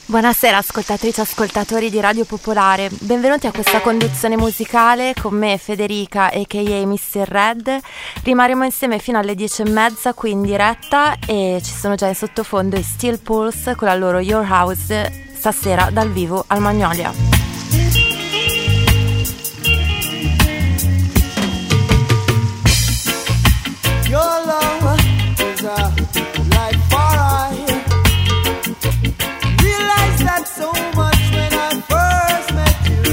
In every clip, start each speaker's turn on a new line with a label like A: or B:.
A: Buonasera ascoltatrici e ascoltatori di Radio Popolare, benvenuti a questa conduzione musicale con me Federica a.k.a. Mr. Red. Rimarremo insieme fino alle 10:30 qui in diretta e ci sono già in sottofondo i Steel Pulse con la loro Your House stasera dal vivo al Magnolia.
B: Your love is a light for I realized that so much when I first met you.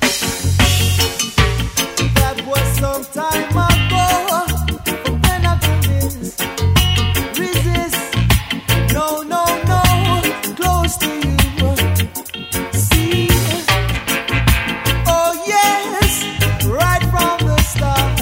B: That was some time ago, but then I couldn't resist. No, no, no, close to you. See, oh yes, right from the start.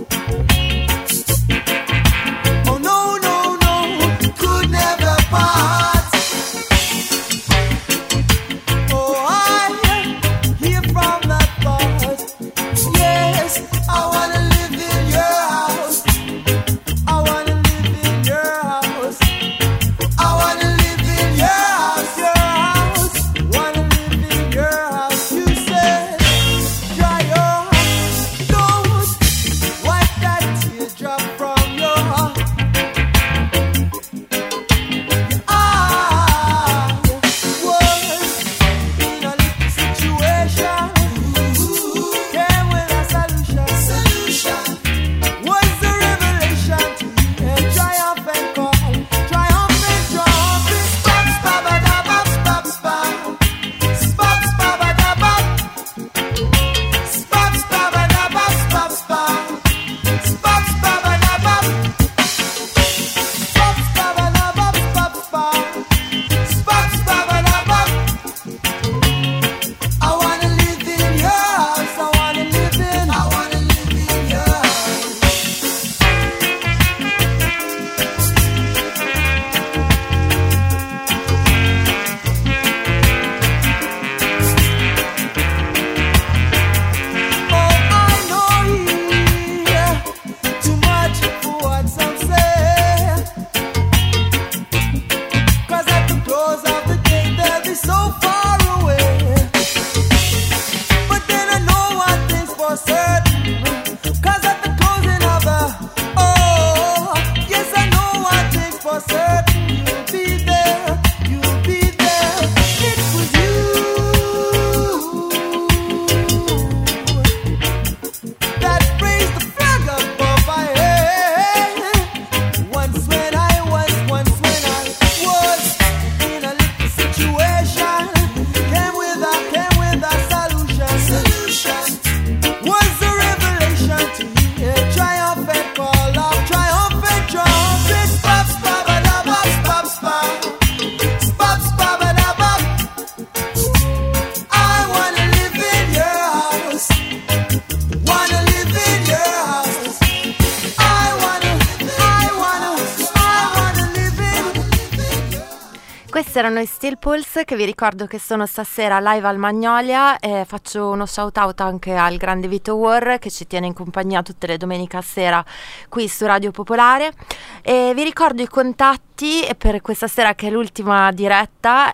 A: Questi erano i Steel Pulse, che vi ricordo che sono stasera live al Magnolia. Faccio uno shout out anche al grande Vito War, che ci tiene in compagnia tutte le domeniche a sera qui su Radio Popolare. E vi ricordo i contatti per questa sera, che è l'ultima diretta: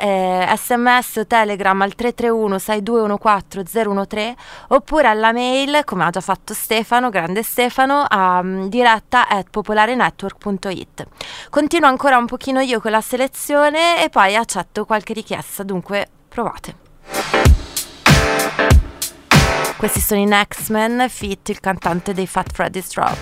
A: SMS o Telegram al 331 6214 013, oppure alla mail, come ha già fatto Stefano, grande Stefano, a diretta@popolarenetwork.it. Continuo ancora un pochino io con la selezione e poi accetto qualche richiesta, dunque provate. Questi sono i Next Men feat il cantante dei Fat Freddy's Drop.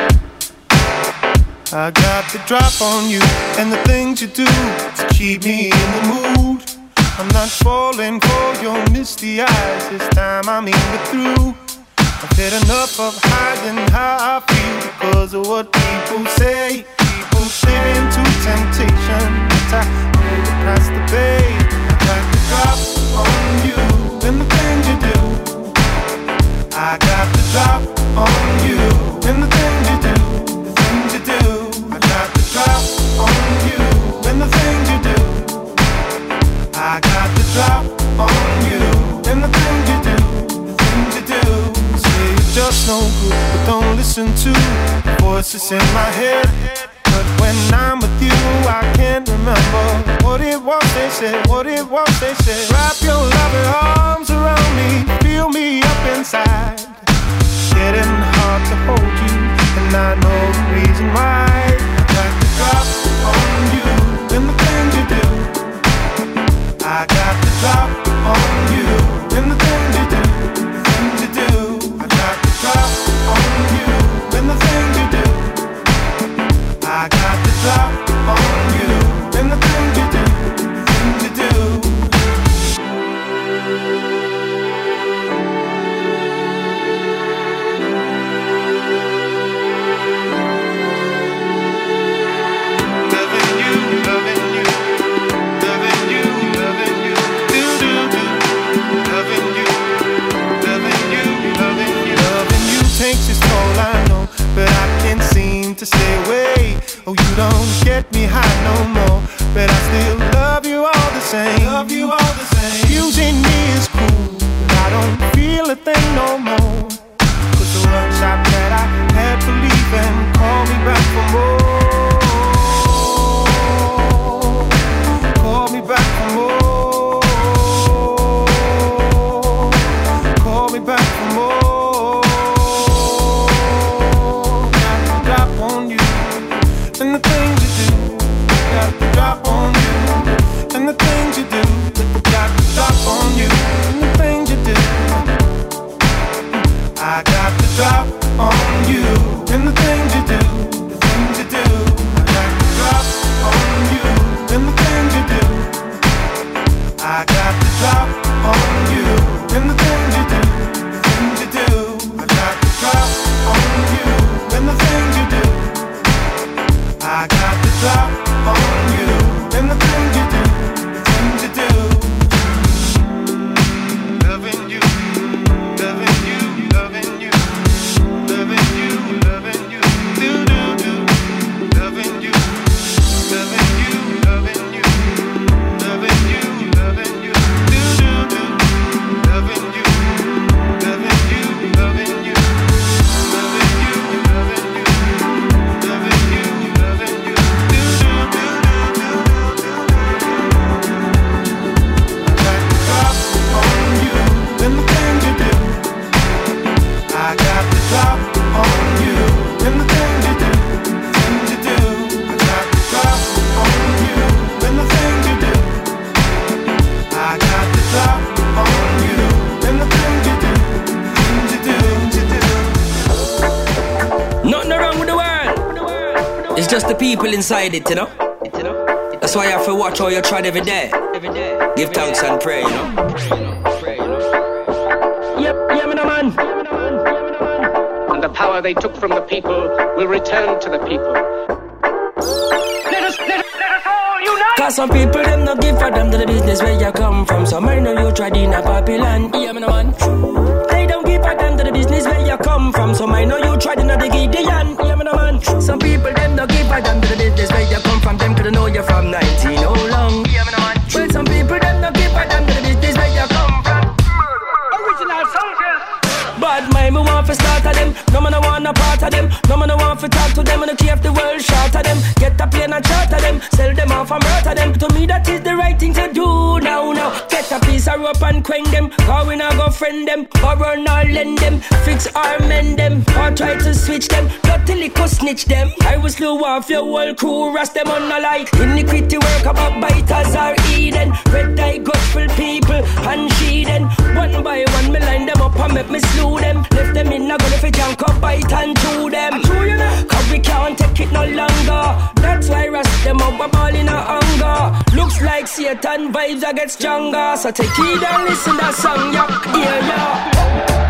C: I got the drop on you and the things you do to keep me in the mood. I'm not falling for your misty eyes, this time I'm even through. I've had enough of hiding how I feel because of what people say. People slipping to temptation, but I know the price to pay. I got the drop on you and the things you do. I got the drop on you and the things you do, the things you do. I got the drop on you and the things you do. I got the drop on you and the things you do, the things you do. Say you're just no good, but don't listen to the voices in my head. But when I'm with you, I can't remember what it was they said, what it was they said. Wrap your loving arms around me, feel me up inside. Getting hard to hold you, and I know the reason why. I got to drop on you, and the things you do. I got to drop on you, and the things you do, the things you do. I got to drop on you, and the things you do. I got to drop on you, and the things you do, the things you do. Takes its toll, I know, but I can't seem to stay away. Oh, you don't get me high no more, but I still love you all the same. Love you all the same. Using me is cool, but I don't feel a thing no more. Cause the one shot that I had for leaving, call me back for more. Call me back for more. Call me back for more. And the things you do, got to drop on you. And the things you do, got to drop on you. And the things you do, I got to drop on you. And the things you do, the things you do, I got to drop on you. And the things you do, I got to drop on you. And the things you do, the things you do, I got to drop on you. And the things you do, I got to drop on you, and the things you do, the things you do. Loving you, loving you, loving you, loving you, loving you, do do do. Loving you, loving you, loving you, loving you, loving you, do do do. Loving you, loving you, loving you, loving you, loving you, loving you. And the things you do, I got to drop on you. And the things you do, the things you do, I got to drop on you. And the things you do, I got to drop on you. And the things you do, the things you do.
D: Nothing wrong with the world. It's just the people inside it, you know. That's why I have to watch how you try every day. Give thanks and pray, you know. Yep, man.
E: And the power they took from the people will return to the people. Let us all unite.
D: Cause some people them not give for them to the business where you come from. Some I know you tried in a Babylon. Yeah, man. They don't give for them to the business where you come from. Some I know you tried in a Gideon. Yeah, man. Some people them not give for them to the business where you come from. Them could know you from 19 oh long. Yeah, man. Well, some people them not give for them to the business where you come from.
E: Original soldiers.
D: Bad mind, me want to start of them. No man I want a part of them. No man I want to talk to them. And I care if the world short of them. Get a plane and charter them. Sell them off and murder them. To me that is the right thing to do now. Get a piece of rope and quang them. Or we not go friend them. Or run or lend them. Fix or mend them. Or try to switch them. Not till it could snitch them. I will slew off your whole crew. Rust them on the light. Iniquity work about biters or Eden. Red eye gospel people and sheathen. One by one me line them up and make me slew them. Left them in a gun if it can't come bite and chew them. Cause we can't take it no longer. That's why rust them up a ball in a hunger. Looks like Satan vibes I get stronger. So take it and listen to that song, yeah.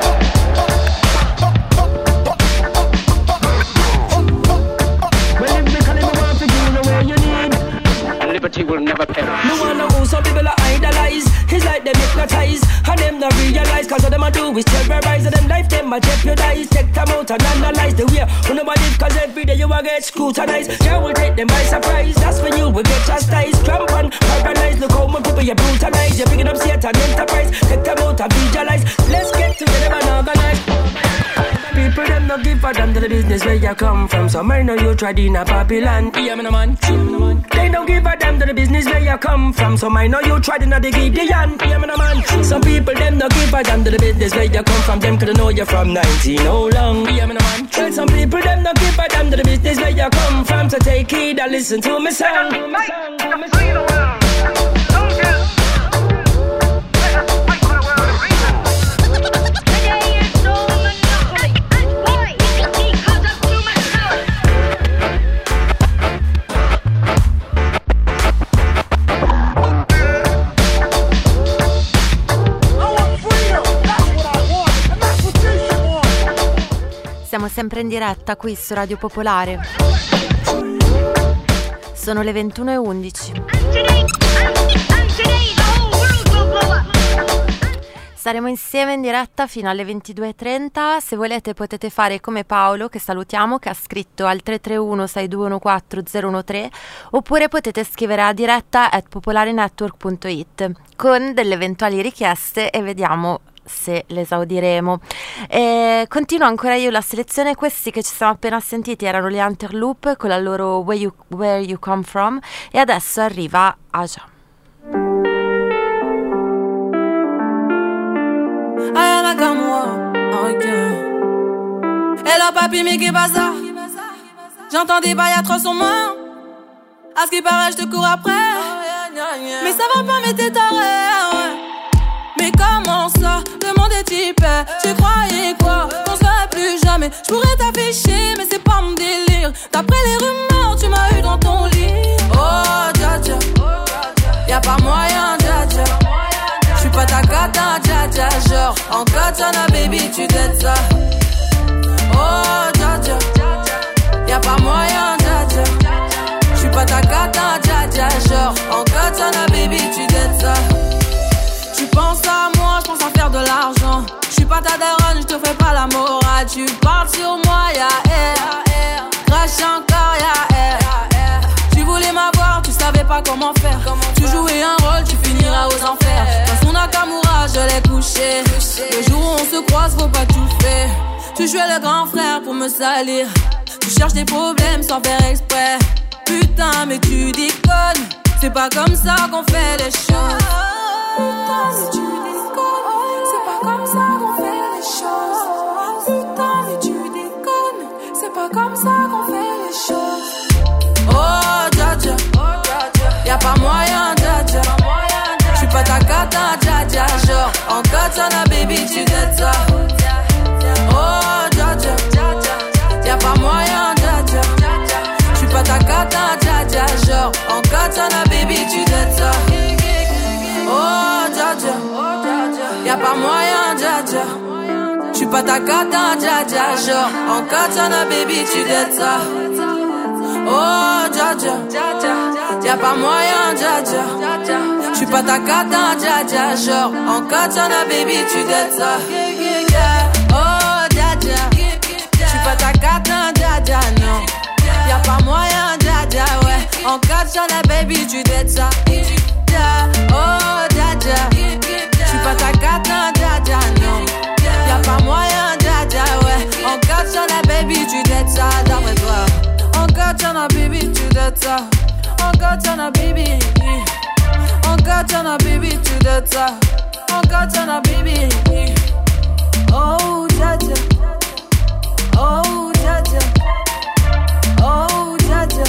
D: Well, if they call it, we want to do the way you need.
E: Liberty will never perish.
D: No one know who some people are idolize. It's like them hypnotize. And them not realize. Cause all them a do is terrorize. And them life them a jeopardize. Take them out and analyze the way. Who nobody cause every day you a get scrutinized. You will take them by surprise. That's when you will get chastised. Cramp and paralyzed. Look how many people you brutalize. You're picking up Satan enterprise. Take them out and visualize. Let's get together and organize. people them no give a damn to the business where you come from. So I know you tried in a Babylon. Yeah, me no man. They don't give a damn to the business where you come from. So I know you tried in a the Gideon. Yeah, me no man. Some people them no give a damn to the business where you come from. Them could know you from 19 how long. Yeah, me no man. Well, some people them no give a damn to the business where you come from. So take heed and listen to me song.
A: Siamo sempre in diretta qui su Radio Popolare. Sono le 21:11. Staremo insieme in diretta fino alle 22:30. Se volete potete fare come Paolo, che salutiamo, che ha scritto al 331-6214-013, oppure potete scrivere a diretta@popolarenetwork.it con delle eventuali richieste e vediamo se le esaudiremo. Continuo ancora io la selezione. Questi che ci siamo appena sentiti erano gli Interloop con la loro Where You Come From, e adesso arriva Aja.
F: Ayana comme moi, ok. Hello papi, mais qu'est pas ça? J'entends des bails atroces sur moi. À ce qui paraît, je te cours après. Mais ça va pas, mais t'es taré. Mais comment ça? Le monde est typé. Tu croyais quoi? Qu'on se verrait plus jamais. Je pourrais t'afficher, mais c'est pas mon délire. D'après les rumeurs, tu m'as eu dans ton lit. Oh, dja dja. Y'a pas moyen, dja dja. J'suis pas ta cata, dja dja. Genre, en katana, baby, tu t'aides ça. Oh, dja dja. Y'a pas moyen, dja dja. J'suis pas ta cata, dja dja. Genre, en katana, baby, tu t'aides ça. Tu penses à moi, j'pense à faire de l'argent. J'suis pas ta daronne, j'te fais pas la morale. Tu parles sur moi, y'a air. Crash encore, y'a air. Tu voulais m'avoir, tu savais pas comment faire. Tu jouais un rôle, tu finiras aux enfers. Dans son Nakamura, je l'ai couché. Le jour où on se croise, faut pas tout faire. Tu jouais le grand frère pour me salir. Tu cherches des problèmes sans faire exprès. Putain, mais tu déconnes. C'est pas comme ça qu'on fait les choses. Putain, mais tu déconnes. C'est pas comme ça qu'on fait les choses. Putain, mais tu déconnes. C'est pas comme ça qu'on fait les choses. Oh, dja dja. Y'a pas moyen, dja dja. J'suis pas ta cata, dja dja. Genre, en katana, baby, tu t'aides ça. Oh, dja dja. Y'a pas moyen, dja dja. J'suis pas ta cata, dja dja. Genre, en katana, baby, tu t'aides ça. Oh, dja dja. Y'a pas moyen, dja dja. J'suis pas ta cata, dja dja. Genre, en katana, baby, tu t'aides ça. Oh, dja dja. Y'a pas moyen, dja dja. J'suis pas ta cata, dja dja. Genre, en katana, baby, tu t'aides ça. Oh, dja dja. J'suis pas ta cata, dja dja, non. Y'a pas moyen, dja dja, ouais. En katana, baby, tu t'aides ça. Oh, dja dja. J'suis pas ta cata, dja dja, non. Y'a pas moyen, dja dja, ouais. En katana, baby, tu t'aides ça, d'après toi. En katana, baby, tu t'aides ça. En katana, baby. En katana, baby, tu t'aides ça. En katana, baby. Oh, dja dja. Oh, dja dja. Oh, dja dja.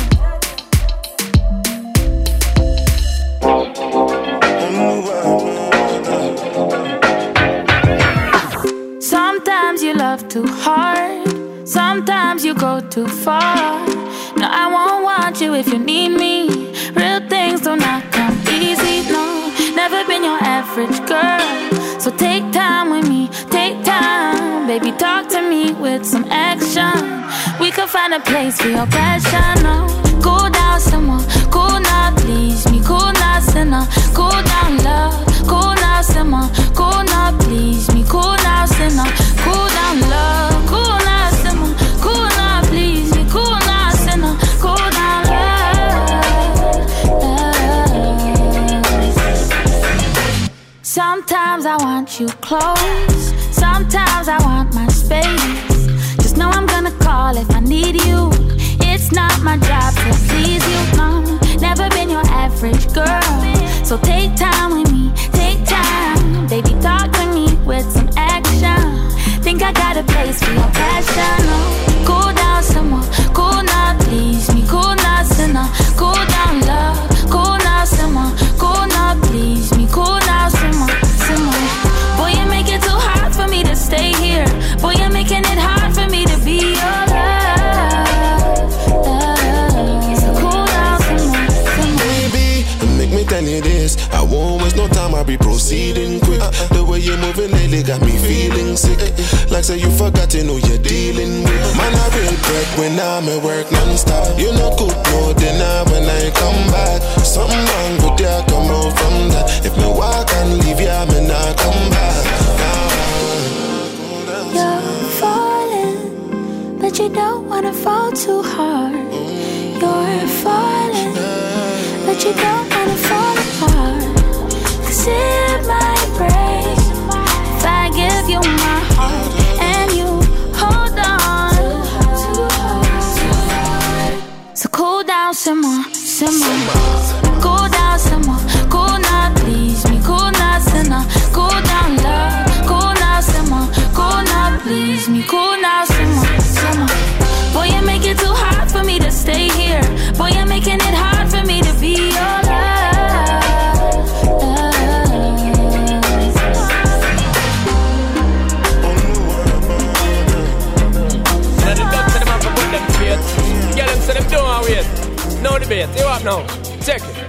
G: Sometimes you love too hard. Sometimes you go too far. No, I won't want you if you need me. Real things do not come easy, no. Never been your average girl. So take time with me, take time. Baby, talk to me with some action. We could find a place for your passion, no. Cool down someone, cool now, please me. Cool now, sinner, cool down love. Cool now, someone, cool now, please me. Cool now, sinner, cool down love. Cool now, someone, cool now, please me. Cool now, sinner, cool down love. Sometimes I want you close. Sometimes I want my space. need you. It's not my job to please you, no. Never been your average girl. So take time with me, take time. Baby, talk to me with some action. Think I got a place for your passion, no. Cool down some more, cool now, please me. Cool now, sinner, cool down, love. Cool now, some more, cool now, please me. Cool now, some more, some more. Boy, you make it too hard for me to stay here. Boy, you're making it hard for me to be your love. So cool down some more, some more.
H: Baby, make me tell you this. I won't waste no time, I'll be proceeding quick. The way you're moving lately got me feeling sick. Like say you forgot to know you're dealing with. Man, I real break when I'm at work non-stop. You know cook no dinner when I come back. Something wrong with ya, come out from that. If me walk and leave ya, me not come back.
G: You're falling, but you don't wanna fall too hard. You're falling, but you don't wanna fall apart. 'Cause it might break if I give you my heart and you hold on. So cool down some more, some more. Cool down some more, cool now, please me. Cool now, sinner, cool down, love. Cool now some more, cool now, please me. Cool now some more, some more. Boy, you make it too hard for me to stay here. Boy, you're making it hard for me to be your love.
D: Let the ducks and them have to put them straight. Get them so them don't wait. No debate, you up now. Check it.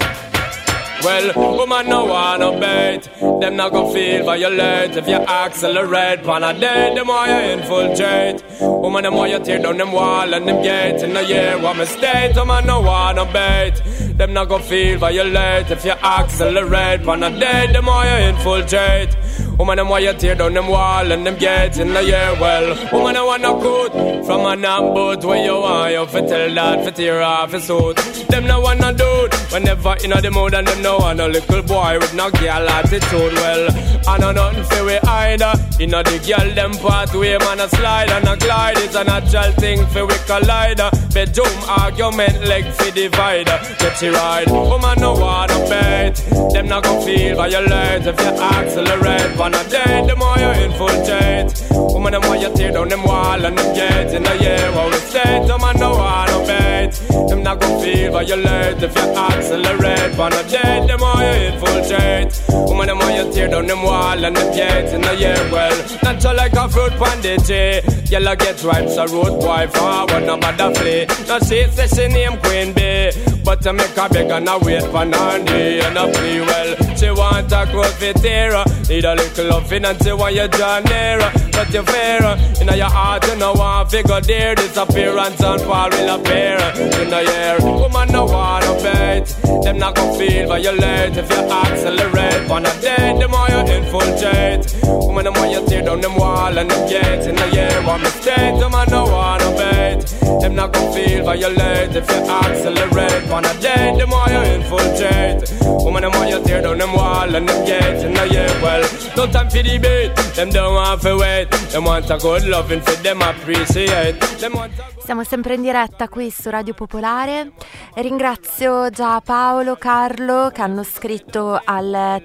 D: Well, woman no wanna bait. Them not gon' feel violate. If you accelerate on a date, the more you infiltrate. Woman, the more you tear down them wall and them gates. In a year, what mistake, woman no wanna bait. Them not gon' feel violate. If you accelerate on a date, the more you infiltrate. Woman, them why you tear down them wall and them gates in the year. Well, woman, I wanna cut from an boat where you want you fi tell that fi tear off his suit. Them no wanna do it whenever inna the mood, and them no want a little boy with no girl attitude. Well, I know nothing fi we either. Inna the girl them pathway, man a slide and a glide. It's a natural thing fi we collide. Bedroom argument leg fi divider. Get you right, woman no wanna bait. Them not gon' feel violate if you accelerate. On a day, the more you infiltrate. Woman, the more you tear down them wall and them gates in the year. What we say, the man no wanna bait. Them not gon' feel violate if you accelerate. On a day, the more you infiltrate. Woman, the more you tear down them wall and them gates in the year. Well, natural like a fruit pandity. Yellow get ripe, so road boy forward, no matter flee. No she say she name Queen Bee, but to make her beg and a wait for Nandi and a free. Well, she want a growth fit here. Need a little loving and she want you draw nearer. But you fear, in your heart you know one figure there. Disappearance and fall will appear. In the year, woman no wanna bait. Them not gon' feel violate if you accelerate. On a day, the more you infiltrate. Woman, the more you tear down them wall and them gates. In the year, one mistake, the man no wanna bait. Them not gon' feel violate if you accelerate. On a day, the more you infiltrate. Woman, the more you tear down them wall and them gates. In the year, well, no time for debate. Them don't want to wait. Them want a good loving for them appreciate. Them want a...
A: Siamo sempre in diretta qui su Radio Popolare. Ringrazio già Paolo, Carlo che hanno scritto al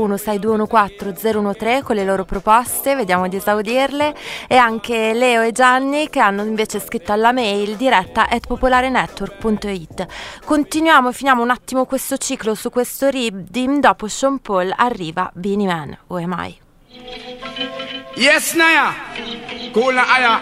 A: 331-6214-013 con le loro proposte, vediamo di esaudirle, e anche Leo e Gianni che hanno invece scritto alla mail diretta@popolarenetwork.it. Continuiamo, finiamo un attimo questo ciclo su questo Redeem. Dopo Sean Paul arriva Beenie Man, Who Am I?
I: Yes, Naya. Cool na aya.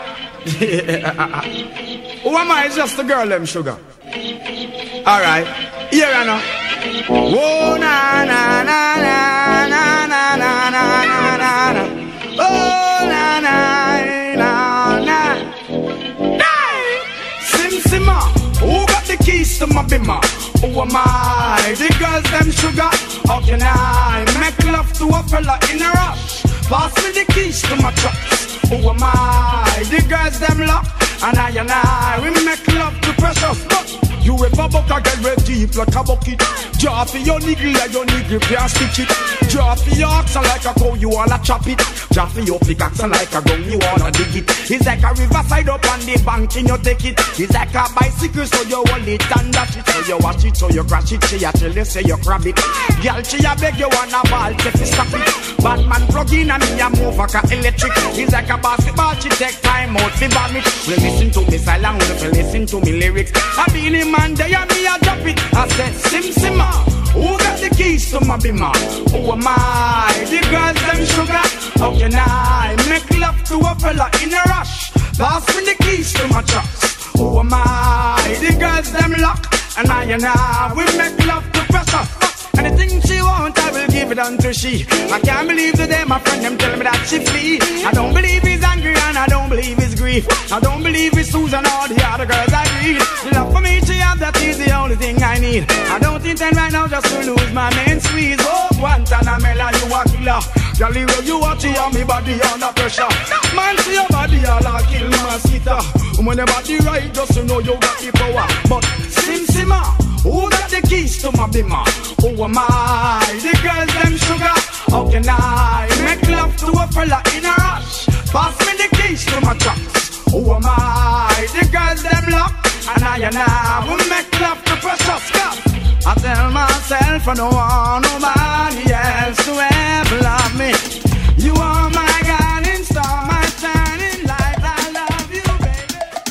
I: Who am I? It's just the girl, them sugar. Alright. Here I know. Whoa, na na na na na na na na na na. Oh, na na na na. Sim Simma. Who got the keys to my bimmer? Who am I? The girls, them sugar. How can I make love to a fella in a rush? Pass me the keys to my trucks. Who am I? The girls them lock. And I, we make love to precious. But you a bubble can get ready deep like a bucket. Draw for your niggle like your niggle can't stitch it. Draw for your oxen like a cow, you wanna chop it. Draw for your pickaxe like a gun, you wanna dig it. It's like a riverside up on the bank and you take it. It's like a bicycle so you hold it and dash it. So you watch it, so you crash it, she a tell you say you grab it. Girl, she a beg you wanna ball, take it, stop it. Batman plug in and me a move like a electric. It's like a basketball, she take time out to bomb it. Well, listen to me silent, well, listen to me lyrics. I be the man there and me a drop it. I said, Sim Simma, who got the keys to my bimmer? Who am I? The girls them sugar. How can I make love to a fella in a rush? Pass me the keys to my trucks. Who am I? The girls them lock. And I we make love to pressure. Anything she want, I will give it unto she. I can't believe today my friend them tell me that she flee. I don't believe he's angry and I don't believe he's grief. I don't believe it's Susan or the other girls I read. The love for me she have, that is the only thing I need. I don't intend right now just to lose my main squeeze. Oh, Guantanamela, you a killer. Girl, you watch it on me body under pressure. Man, see your body all a kill mosquito. When your body right, just to know you got the power. But Sim Simma, who got the keys to my bimmer? Who am I? The girls them sugar. How can I make love to a fella in a rush? Pass me the keys to my trucks. Who am I? The girls them lock. And I will make love to precious stuff. I tell myself I don't want nobody else to ever love me. You are my guiding star, my shining light. I love you, baby.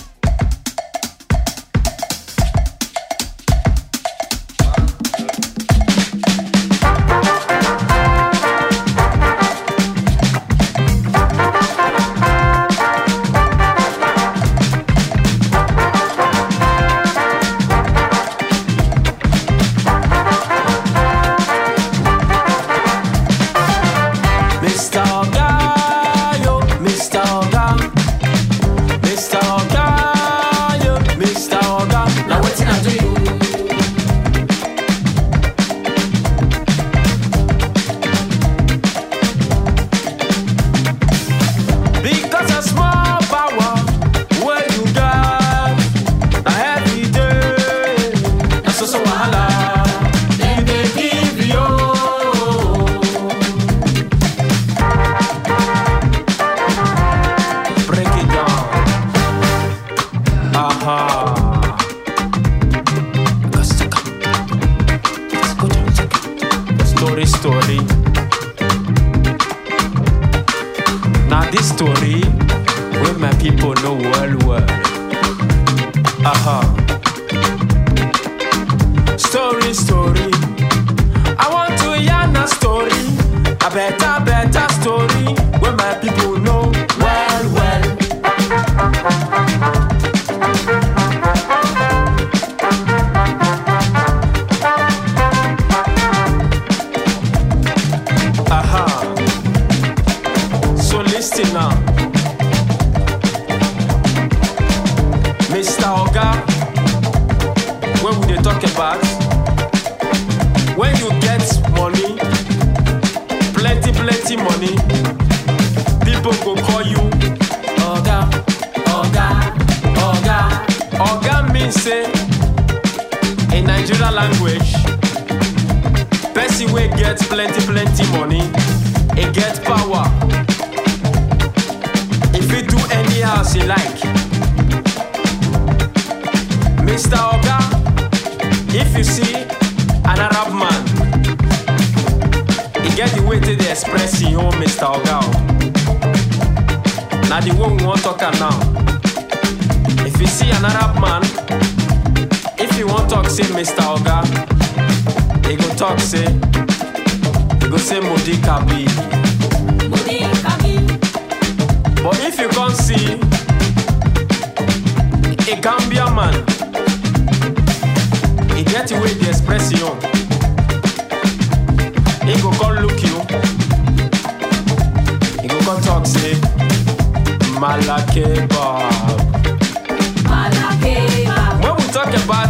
J: When we talk about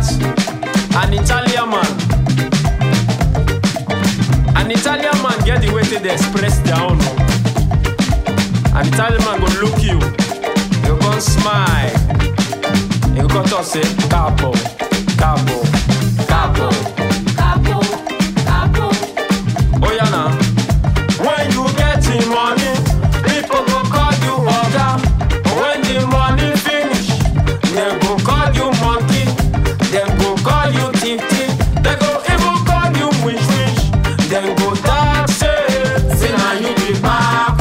J: an Italian man, an Italian man get the way they express their own. An Italian man go look you, you go smile, you go talk say capo, capo, capo.
D: capo, capo, capo.
J: Oh yeah now. When you get the money, people go call you Oga. When the money finish, they go call you monkey. They go call you Titi. They go even call you wish wish. They go talk say now you be back.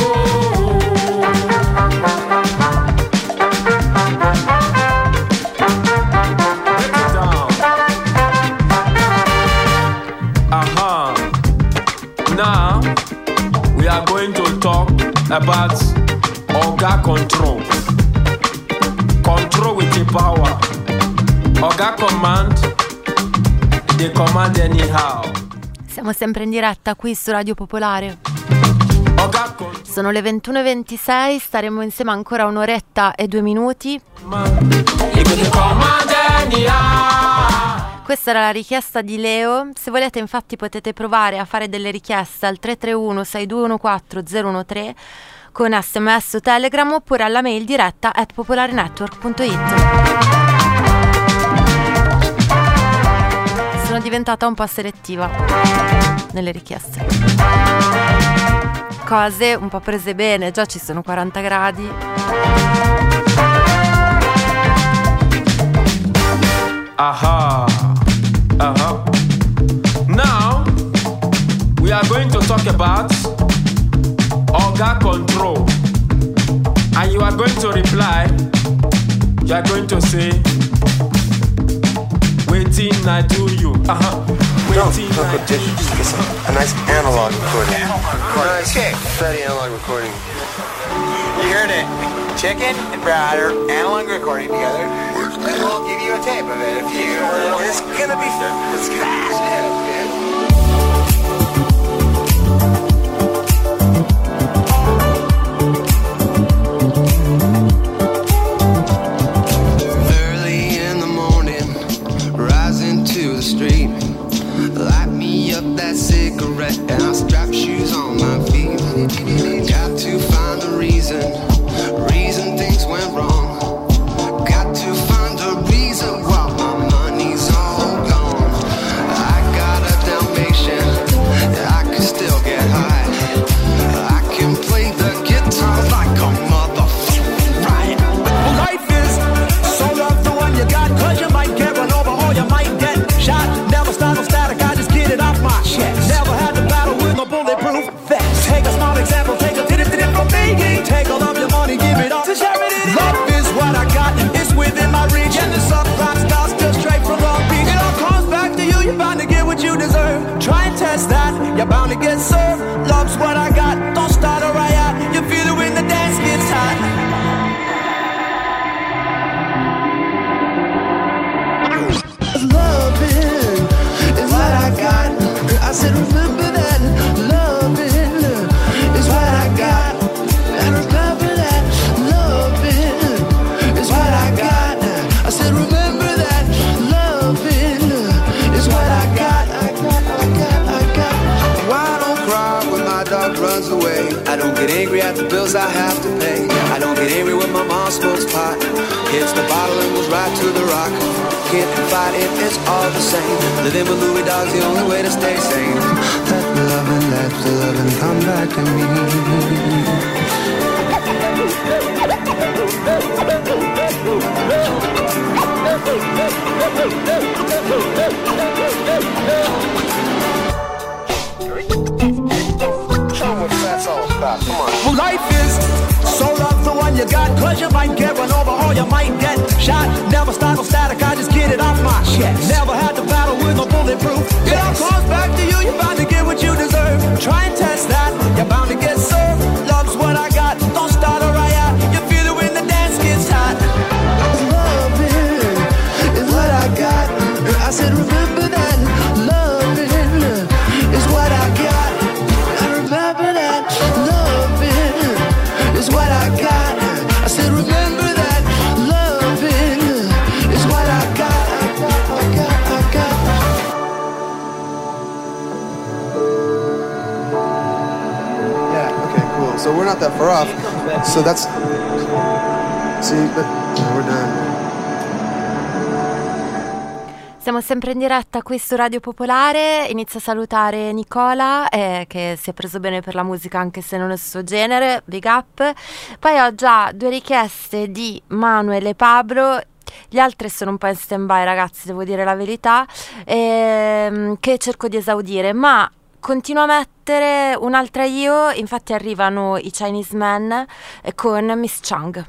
J: Now we are going to talk about Oga control. Control with the power. Oga command, they command anyhow.
A: Siamo sempre in diretta qui su Radio Popolare.
J: Oga control.
A: Sono le 21:26, staremo insieme ancora un'oretta e 2 minuti. Questa era la richiesta di Leo. Se volete infatti potete provare a fare delle richieste al 331-6214-013 con SMS o Telegram oppure alla mail diretta @popolarenetwork.it. Sono diventata un po' selettiva nelle richieste. Cose un po' prese bene, già ci sono 40 gradi.
J: Aha. Now we are going to talk about Oga control. And you are going to reply. You are going to say, waiting I do you. Waiting I do you.
K: A nice analog recording. Nice, fatty analog recording.
L: You heard it. Chicken and Browder, analog recording together. And we'll give you a tape of it if you. It's gonna be fast.
M: Early in the morning, rising to the street. Light me up that cigarette and I'll strap shoes on my feet. Got to find a reason things went wrong. Got to find a reason why my money's all gone. I got a Dalmatian, I can still get high. I can play the guitar like a motherfucker, right?
N: Life is so love the one you got, 'cause you might get run over or you might get shot. Never start no static, I just get it off my chest. Never had to battle with no bulletproof vest. Take a small example, take a tip from me. Take all of your money, give it up to charity. Love is what I got, it's within my reach. And the sun rock stars just straight from Long Beach. It all comes back to you, you're bound to get what you deserve. Try and test that, you're bound to get served. Love's what I got, don't start a riot. You feel it when the dance gets hot.
M: Loving is what I got. I said remember that. Loving is what I got. And remember that. Loving is what I got. I said remember that. Loving is what I got. I got.
B: Why don't cry when my dog runs away? I don't get angry at the bills I have to pay. I don't get angry when my mom smokes pot. Hits the bottle and goes right to the rock. Can't fight it, it's all the same. Living with Louis Dog's the only way to stay sane.
M: Let the loving come back to me.
L: Show them what that's all about. Come on.
N: Well, life is so love the one you got, 'cause you might get run over or you might get shot. Never start no static, I just get it off my chest. Never had to battle with no bulletproof. It all comes back to you, you're bound to get what you deserve. Try and test that, you're bound to get served. Love's what I got, don't start a riot. You feel it when the dance gets hot.
M: Loving is what I got. I said remember that. Loving is what I got. I remember that. Loving is what I got. I said remember that. Loving is what I got. I got.
K: Yeah, okay, cool. So we're not that far off. So that's... See, but we're done.
A: Siamo sempre in diretta qui su Radio Popolare. Inizio a salutare Nicola che si è preso bene per la musica anche se non è il suo genere, big up. Poi ho già 2 richieste di Manuel e Pablo. Gli altri sono un po' in stand by, ragazzi, devo dire la verità, che cerco di esaudire, ma continuo a mettere un'altra io. Infatti arrivano i Chinese Men con Miss Chang.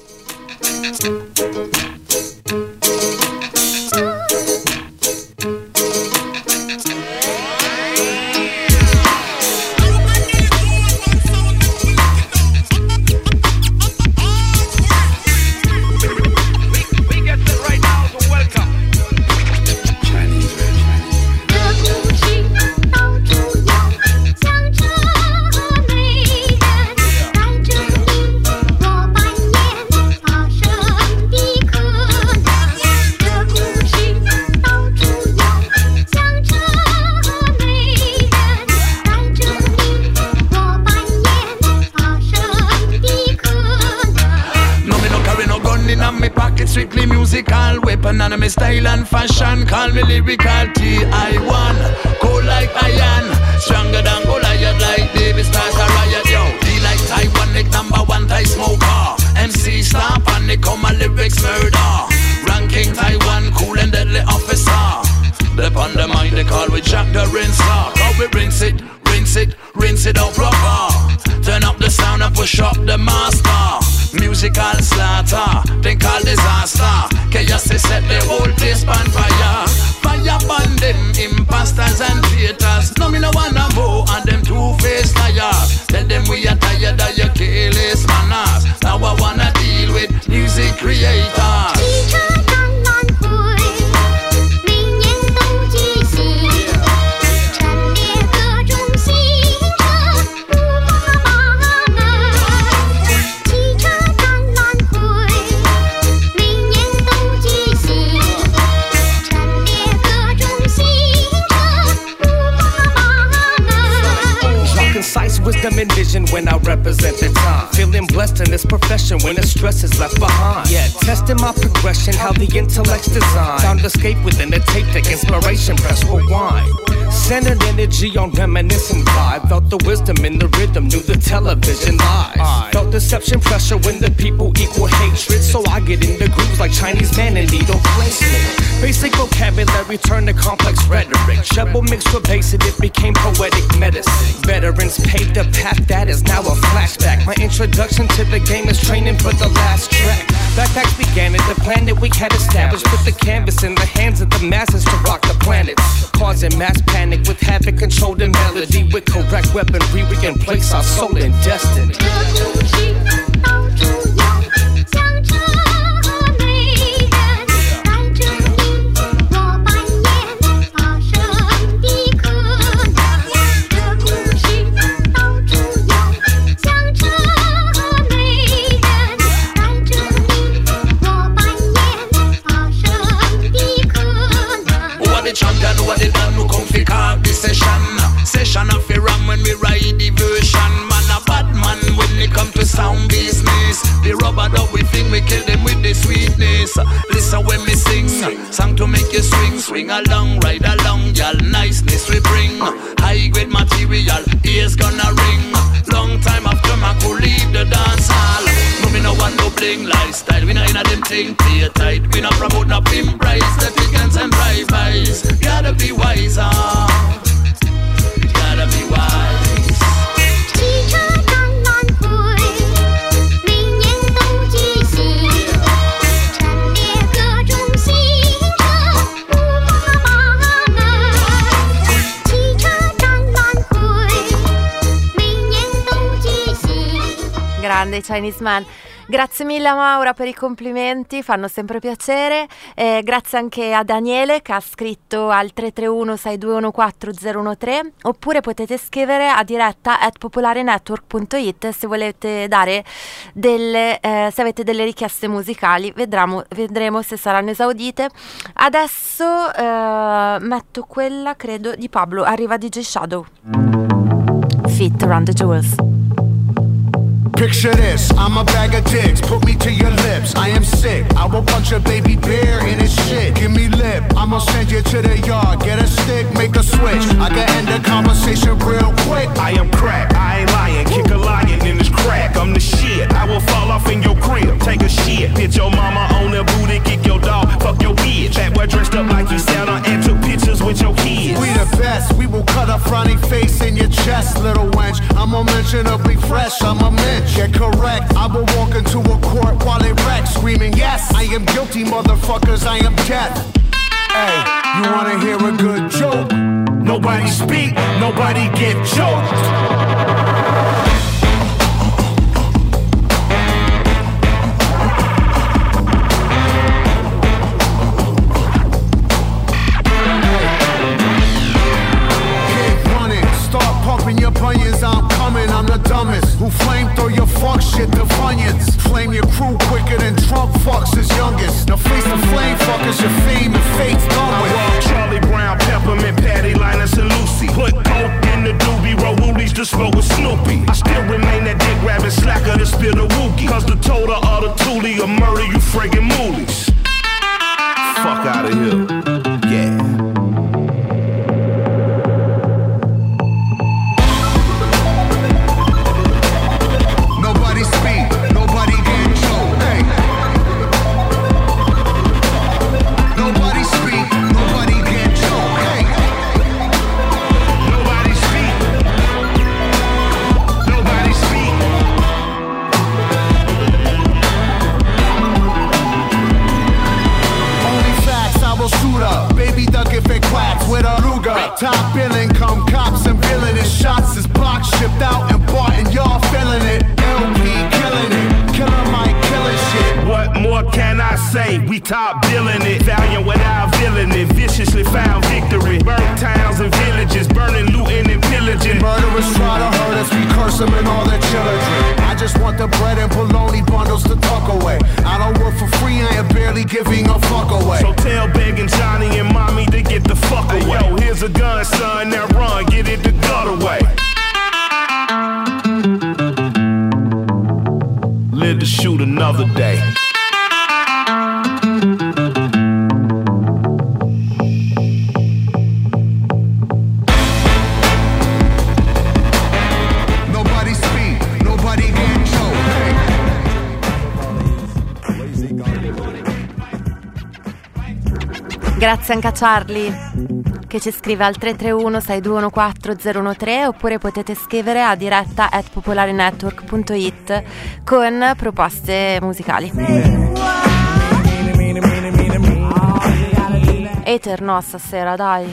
O: Strictly musical, weapon and my style and fashion. Call me lyrical T-I-1, cold like iron, stronger than Goliath, like David start a riot, yo. Be like Taiwan, like #1 Thai smoker. MC star, panic on my lyrics murder. Ranking Taiwan, cool and deadly officer. They're on the mind, they call with Jack the Rinser. How we rinse it, rinse it, rinse it out proper. Turn up the sound and push up the master. Musical slaughter, they call disaster. Chaos they set the whole place on fire. Fire burn them imposters and traitors. No me no wanna more and them two-faced liars. Tell them we are tired of your careless manners. Now I wanna deal with music creators.
P: Wisdom and vision when I represent the time. Feeling blessed in this profession when the stress is left behind. Yeah, testing my progression, how the intellect's designed. Found escape within the tape deck, inspiration, press rewind. Centered energy on reminiscent vibe. Felt the wisdom in the rhythm, knew the television lies. Felt deception pressure when the people equal hatred. So I get in the grooves like Chinese man and needle placement. Basic vocabulary turned to complex rhetoric. Treble mixed with bass and it became poetic medicine. Veterans paved the path that is now a flashback. My introduction to the game is training for the last track. Backpacks began at the plan that we had established. Put the canvas in the hands of the masses to rock the planets. Causing mass panic with havoc, control the melody. With correct weaponry we can place our soul in destiny.
O: Session of a ram when we ride the version. Man a bad man when it come to sound business. The rubber dub we think we kill them with the sweetness. Listen when me sing, song to make you swing. Swing along, ride along, y'all niceness we bring. High grade material, ears gonna ring. Long time after I could leave the dance hall. No me no want no bling lifestyle. We no inna them thing play tight. We no promote no pimp price. The pickings and drive-bys. Gotta be wiser. Gotta be wise.
Q: 汽车当晚会，每年都举行，陈列各种新车，不怕麻烦。汽车当晚会，每年都举行。
A: Grande Chinese Man. Grazie mille a Maura per i complimenti, fanno sempre piacere. Grazie anche a Daniele che ha scritto al 331-6214013, oppure potete scrivere a diretta @popolarenetwork.it se volete dare delle, se avete delle richieste musicali. Vedremo se saranno esaudite. Adesso metto quella, credo, di Pablo. Arriva DJ Shadow. Fit Around the Jewels.
C: Picture this, I'm a bag of dicks, put me to your lips. I am sick, I will punch a baby bear in his shit. Give me lip, I'ma send you to the yard. Get a stick, make a switch, I can end the conversation real quick.
R: I am crack, I ain't lying, kick a lion in this crack. I'm the shit, I will fall off in your crib, take a shit. Hit your mama on the booty, kick your dog, fuck your bitch. That boy dressed up like you Santa and took pictures with your kids.
C: We the best, we will cut a frowny face in your chest, little wench. I'm unmentionably fresh, I'm a mensch. Get correct, I will walk into a court while it wrecks, screaming, yes, I am guilty, motherfuckers, I am death. Hey, you wanna hear a good joke? Nobody speak, nobody get choked. Your bunions, I'm coming, I'm the dumbest. Who flame throw your fuck shit to Funyuns? Flame your crew quicker than Trump fucks his youngest. Now face the flame fuckers, your fame and fate's done with.
R: Charlie Brown, Peppermint, Patty, Linus and Lucy. Put coke in the doobie, roll woolies to smoke with Snoopy. I still remain that dick grabbing slacker to spill the wookie. Cause the total of the toolie will murder you friggin' moolies. Fuck out of here, yeah.
C: Top billing, come cops and villainous shots is block shipped out and bought and y'all feeling it. LP killing it, Killer Mike killing shit.
R: What more can I say? We top billing it, valiant without villain it. Viciously found victory, burnt towns and villages, burning, looting and pillaging.
C: Murderers try to hurt us, we curse them and all their children. I just want the bread and bologna bundles to tuck away. I don't work for free, I am barely giving a fuck away.
R: So tell begging Johnny and mommy to get the fuck away. Yo, here's a gun, son, now run, get it the gut away. Live to shoot another day.
A: Grazie anche a Charlie che ci scrive al 331-6214013 oppure potete scrivere a diretta@popolarenetwork.it con proposte musicali. Ether no stasera, dai.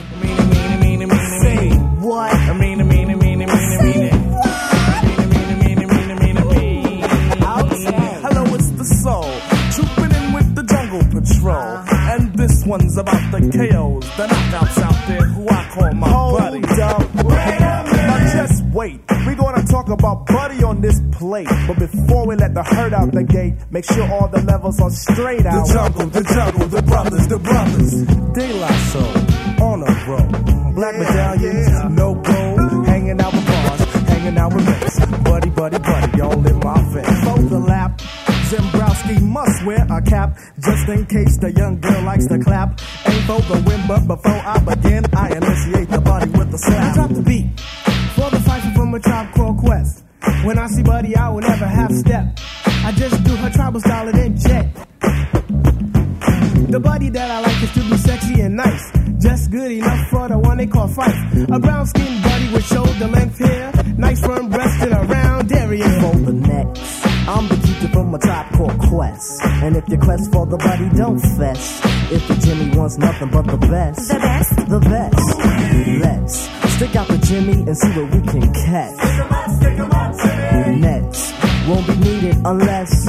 S: Hello, it's the soul, trooping in with the jungle patrol. And this one's about the KOs, the knockouts out there who I call my buddy. Now just wait, we're gonna talk about Buddy on this plate. But before we let the herd out the gate, make sure all the levels are straight out. The jungle, the brothers. De La Soul, on a roll. Black medallions, no gold. Hanging out with bars, hanging out with mates. Buddy, all in my face. Fold the lap. Zembrowski must wear a cap, just in case the young girl likes to clap. Ain't for the win, but before I begin, I initiate the body with a slap. I drop the beat for the cipher from a Tribe Called Quest. When I see Buddy, I will never half step. I just do her tribal style and then jet. The Buddy that I like is to be sexy and nice, just good enough for the one they call Fife. A brown-skinned Buddy with shoulder length hair, nice firm breast and a round area.
T: For the next, I'm the keeper from a Tribe Called Quest. And if you quest for the Buddy, don't fess. If the Jimmy wants nothing but the best, the best. Let's stick out the Jimmy and see what we can catch. Nets won't be needed unless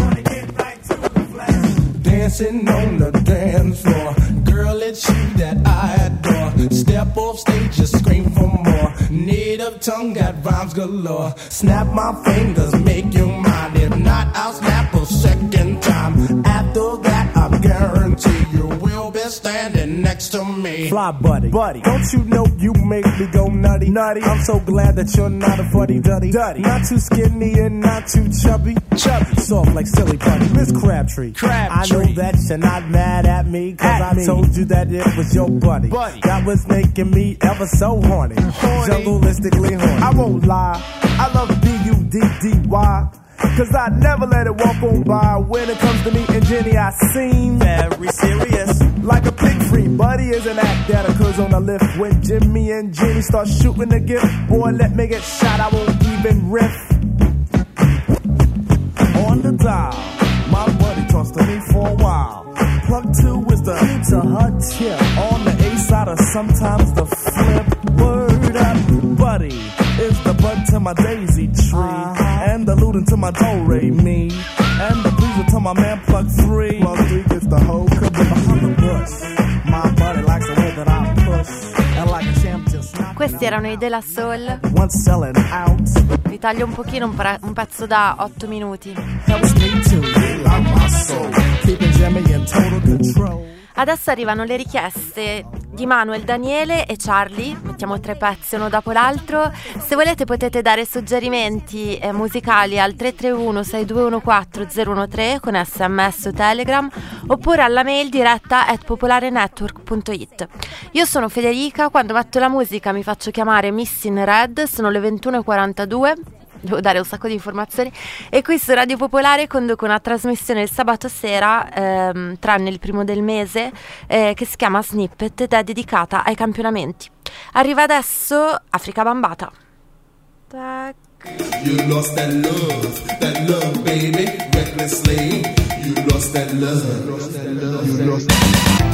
S: dancing on the dance floor. Girl, it's you that I adore. Step off stage, just scream for more. Native tongue got rhymes galore. Snap my fingers, make you mine. If not, I'll snap a second time. After that, I guarantee you will be
N: is standing next to me.
S: Fly buddy, don't you know you make me go nutty, nutty? I'm so glad that you're not a fuddy duddy, not too skinny and not too chubby, soft like silly putty. Miss Crabtree, I know that you're not mad at me, cause I told you that it was your buddy that was making me ever so horny, jungleistically horny. I won't lie, I love B-U-D-D-Y, cause I never let it walk on by. When it comes to me and Jenny, I seem very serious, like a pig free. Buddy is an act that occurs on the lift. When Jimmy and Jenny start shooting the gift, boy, let me get shot, I won't even riff. On the dial, my buddy talks to me for a while. Plug 2 is the key to her tip. On the A side or sometimes the flip. Word up, buddy is the bud to my daisy tree, and the looting to my do-re-mi, and the pleaser to my man Plug 3. Plug 3 gets the whole cook behind the bush. My buddy likes the way that I push, and like a champ just not.
A: Questi erano i De La Soul.
S: Once selling out.
A: Vi taglio un pochino un pezzo da 8 minuti.
S: Helps me to heal out my soul, keeping Jimmy in total control.
A: Adesso arrivano le richieste di Manuel, Daniele e Charlie. Mettiamo 3 pezzi uno dopo l'altro. Se volete potete dare suggerimenti musicali al 331-6214-013 con SMS o Telegram, oppure alla mail diretta @popolarenetwork.it. Io sono Federica, quando metto la musica mi faccio chiamare Miss in Red, sono le 21:42. Devo dare un sacco di informazioni. E qui su Radio Popolare conduco una trasmissione il sabato sera, tranne il primo del mese, che si chiama Snippet ed è dedicata ai campionamenti. Arriva adesso Africa Bambata. Tac.
H: You lost that love, baby, recklessly. You lost that love, you lost that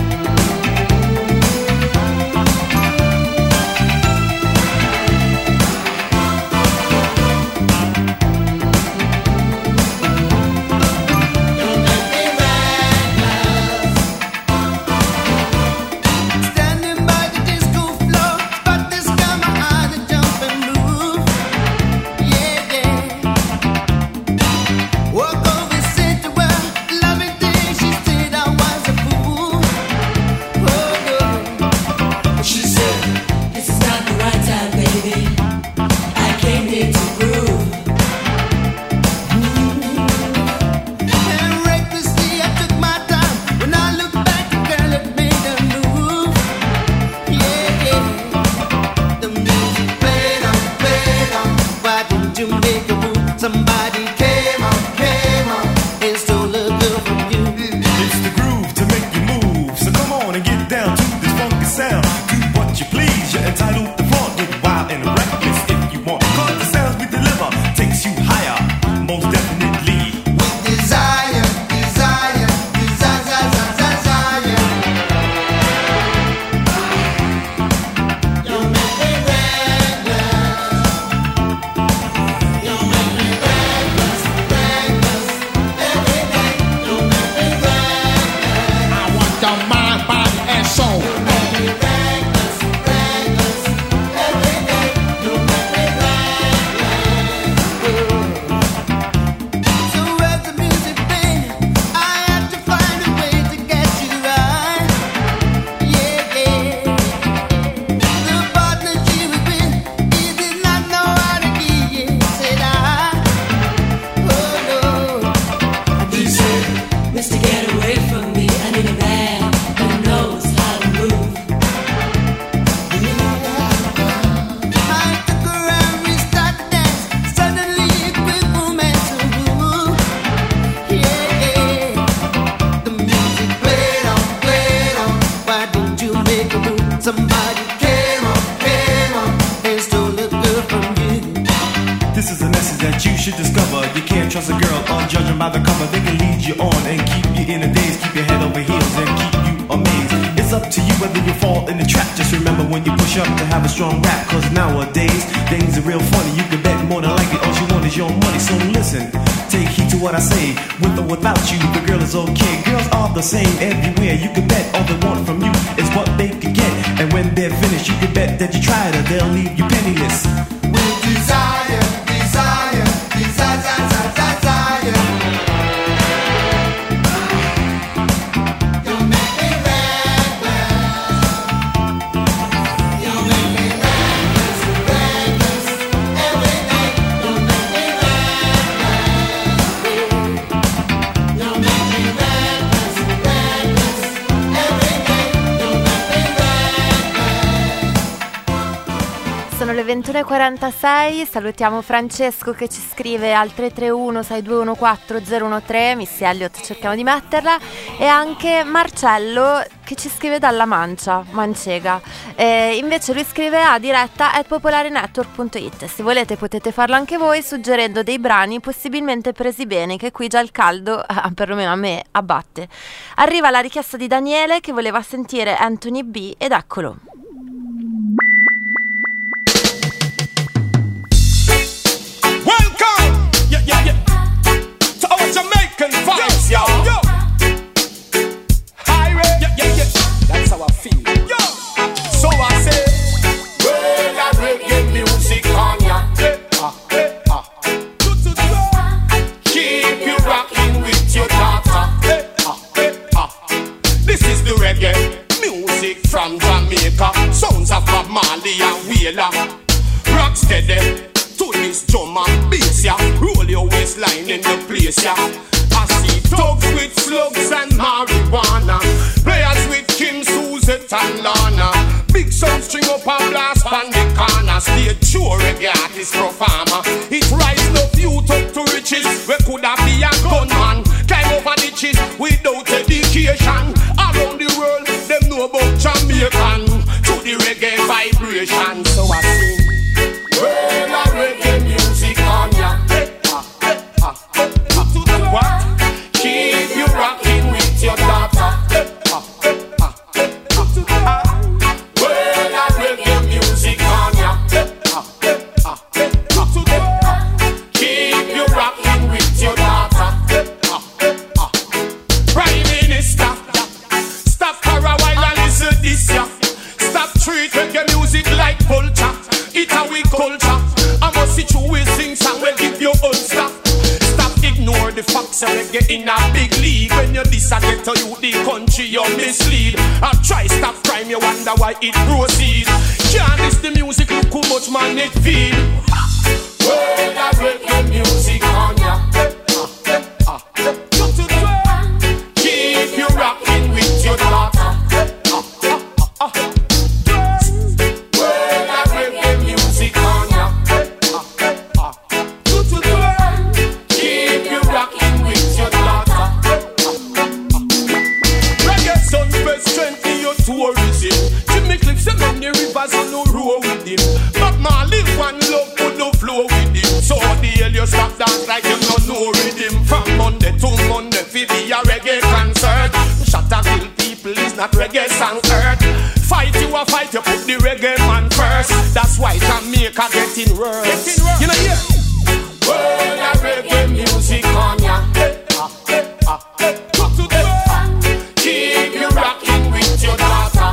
C: trust a girl on judging by the cover. They can lead you on and keep you in a daze, keep your head over heels and keep you amazed. It's up to you whether you fall in the trap. Just remember when you push up to have a strong rap, cause nowadays things are real funny. You can bet more than likely all you want is your money. So listen, take heed to what I say. With or without you, the girl is okay. Girls are the same everywhere. You can bet all they want from you is what they can get. And when they're finished, you can bet that you tried her, they'll leave you penniless.
H: With desire, desire, desire, desire, desire. You make me reckless,
A: 21:46, salutiamo Francesco che ci scrive al 331-6214-013, Missy Elliott cerchiamo di metterla, e anche Marcello che ci scrive dalla Mancega. Invece lui scrive a diretta@popolarenetwork.it. Se volete potete farlo anche voi suggerendo dei brani possibilmente presi bene, che qui già il caldo, perlomeno a me, abbatte. Arriva la richiesta di Daniele che voleva sentire Anthony B ed eccolo.
R: Welcome, yeah, to our Jamaican vibes, yo. Highway, yeah, that's how I feel, yo. So I say, well, I reggae music on ya. Keep you rocking with your daughter. This is the reggae music from Jamaica. Sounds of Bob Marley and Wheeler. Rock steady to this drum and bass, yeah. Roll your waistline in the place, yeah. I see thugs with slugs and marijuana, players with Kim, Suzette and Lana. Big sound string up and blast on the corner. Stay true reggae artist performer. It rise no youth up to riches. We coulda be a gunman, climb over ditches without education. Around the world, them know about Jamaican. To the reggae vibration, so I sing. Well, I reggae music on ya. What? Keep you rocking with your daughter. Well, I reggae music on ya. Keep you rocking with your daughter. Prime Minister, stop for a while and listen this ya. Stop treat reggae music like culture. It's a we culture. I must see you will sing song will give you unstuck. Stop ignore the facts and reggae in a big league. When you disagree to you the country you mislead. I try stop crime you wonder why it proceeds. Can't miss the music look how much man it feel. Well, I reggae music on ya. Keep you rocking with your daughter. Tourism, Jimmy Cliff say many rivers on no row with him. But Marley one love put no flow with him. So the hell you stop dance like you don't know rhythm. From Monday to Monday, fi be a reggae concert. Shut up, kill people is not reggae song earth. Fight you a fight, you put the reggae man first. That's why Jamaica getting worse. You know yeah. Well, a reggae music on ya. Keep you rocking with your daughter.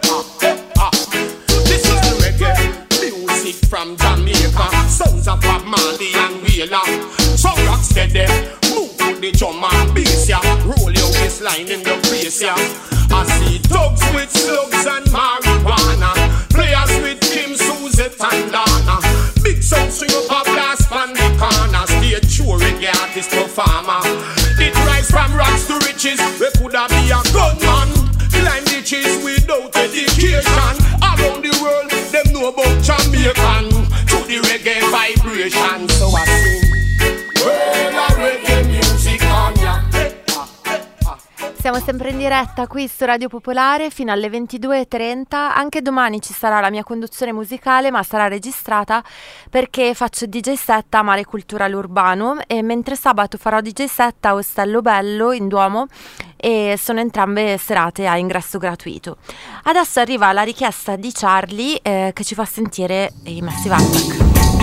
R: This is the reggae music from Jamaica. Sounds of Bob Marley and Wheeler. So rock steady, move to the drum and bass, yeah. Roll your waistline in the place, yeah. I see thugs with slugs and marijuana, players with Kim, Suzette and Lana. Big sound string up a blast on the corner. Stay true reggae artist performer. It rise from rocks to riches. We coulda be a gunman, climb ditches without education. Around the world, them know about Jamaican. To the reggae vibration, so I sing. Well, a reggae music on ya.
A: Siamo sempre in diretta qui su Radio Popolare fino alle 22:30. Anche domani ci sarà la mia conduzione musicale, ma sarà registrata perché faccio DJ set a Mare Culturale Urbano, e mentre sabato farò DJ set a Ostello Bello in Duomo, e sono entrambe serate a ingresso gratuito. Adesso arriva la richiesta di Charlie che ci fa sentire i Massive Attack.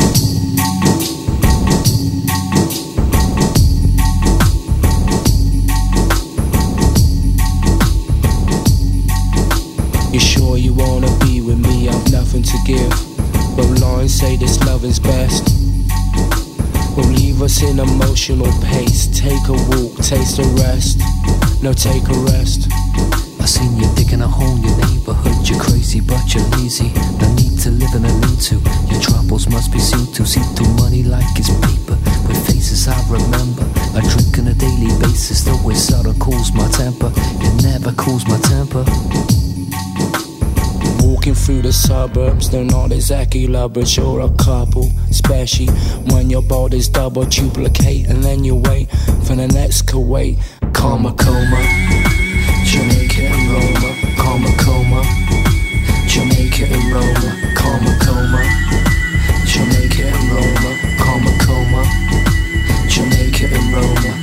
U: You sure you wanna be with me? I've nothing to give. But lines say this love is best. Will leave us in emotional pace. Take a walk, taste a rest. No, take a rest.
V: I seen you digging a hole in your neighborhood. You're crazy but you're lazy. No need to live in a lean-to. Your troubles must be seen to. See through money like it's paper. With faces I remember. I drink on a daily basis. Though it seldom cools my temper. It never cools my temper.
U: Walking through the suburbs, they're not exactly lovers, you're a couple. Especially when your body's double duplicate, and then you wait for the next Kuwait. Karma coma, Jamaica and Roma. Karma coma, Jamaica and Roma. Karma coma, Jamaica and Roma. Karma coma, Jamaica and Roma.